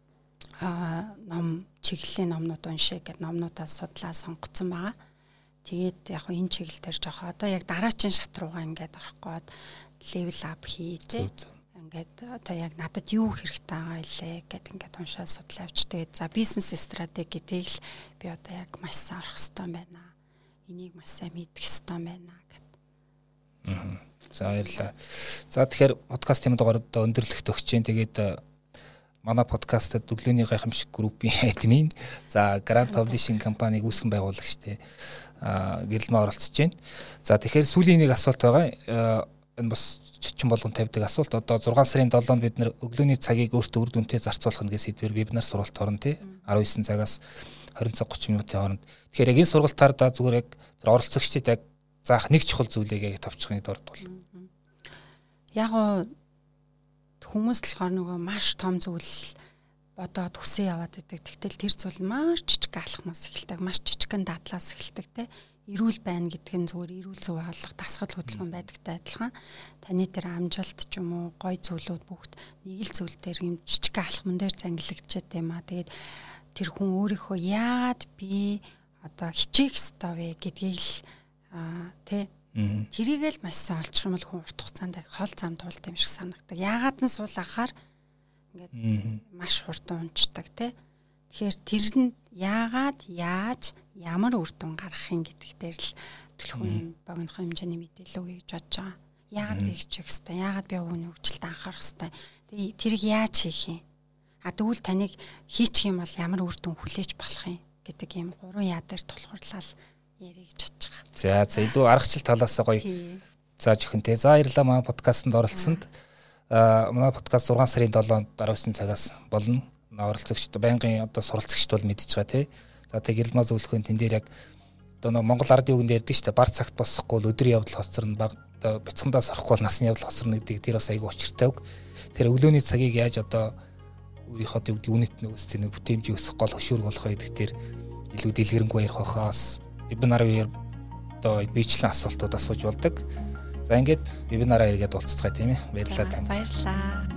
ном чиглэлийн номнууд уншээ гэдэг номнуудаа судлаа сонгоцсон байгаа. Тэгээд яг энэ чиглэл дээр жоох одоо яг дараачийн шат руугаа ингээд орох гээд level up хийжээ. Ингээд одоо яг надад юу хэрэгтэй байгаа илээ гэдэг ингээд уншаа судлаа авч тэгээд за бизнес стратеги гэдгийг л би одоо яг маш сайн орох хэрэгтэй байна. Энийг маш сайн мэдэх хэрэгтэй байна гэдэг. За баярлалаа. За тэгэхээр подкаст юм дугаар одоо өндөрлөлт өгч जैन. Тэгээд манай подкастад өглөөний гайхамшиг группийн админ за Grand Publishing компаниг үүсгэн байгуулагчтэй гэрэлмээ оролцож байна. За тэгэхээр сүүлийн нэг асуулт байгаа. Энэ бас чичэн болгон тавьдаг асуулт. Одоо 6 сарын 7-нд бид нэр өглөөний цагийг өөртөө үр дүнтэй зарцуулах нэгээс сэдвээр вебинар сургалт орно тий. 19 цагаас 20 цаг 30 минутын хооронд. Тэгэхээр яг энэ сургалтаар да зүгээр яг оролцогчдод яг заах нэг чухал зүйлийг яг товчхны дорд бол. Яг гоо хүмүүс болохоор нөгөө маш том зүйл бодоод хүсээ яваад байдаг. Тэгтэл тэр зүйл маш жижиг алхмаас эхэлдэг, маш жижигхэн дадлаас эхэлдэг те. Эрүүл байна гэдэг нь зүгээр эрүүл зөв хаалга, дасгал хөдөлгөөн байдагтай адилхан. Таны тэр амжилт ч юм уу, гой зүйлүүд бүгд нэг л зүйл дээр юм жижиг алхман дээр зангилагдчихэд юм аа. Тэгээд тэр хүн өөрийнхөө яагаад би одоо хичээх ёстой вэ гэдгийг л тэ тэрийг л маш сайн олчих юм бол хүн урт хугацаанд хол зам туулт юм шиг санагдаг. Яагаад нь суулгахаар ингээд маш хурдан унцдаг те. Тэгэхээр тэр нь яагаад, яаж, ямар үр дүн гарах юм гэдэг дээр л төлхөн юм богинохон хэмжээний мэдээлэл өгье гэж бодож байгаа. Яагаад би хичээх ёстой? Яагаад би өвгөний хөгжилд анхаарах ёстой? Тэгээ тэрийг яаж хийх юм? Тэгвэл таныг хийчих юм бол ямар үр дүн хүлээж болох юм гэдэг ийм 3 яа дээр тулгуурлал ярих гэж бодож байгаа. За илүү аргачлал талаас гоё зааж өгөн те. За баярлалаа манай подкастт оролцсонд. Манай подкаст 6 сарын 7-нд 19 цагаас болно. Оролцогчд байнгын одоо суралцагчд бол мэдчихэж байгаа тий. За тэгээ гэрэлмаа зөвлөхөн тэн дээр яг одоо Монгол ардын үгэнд ярьдаг шүү дээ. Бар цагт босохгүй бол өдрийн явдал хоцорно, баг бяцхандаа сорохгүй бол насны явдал хоцорно гэдэг тэр бас айгүй учиртай үг. Тэр өглөөний цагийг яаж одоо өөрийнхөө одоо үнэт нөөц тэр бүтээмжийг өсгөх гол хөшүүрэг болох вэ гэдэг дээр илүү дэлгэрэнгүй ярих хахаас вебинарын үеэр одоо биечлэн асуултууд асууж болдог. За ингээд вебинараа иргэд уулзцгаая тийм ээ. Баярлалаа танд. Баярлалаа.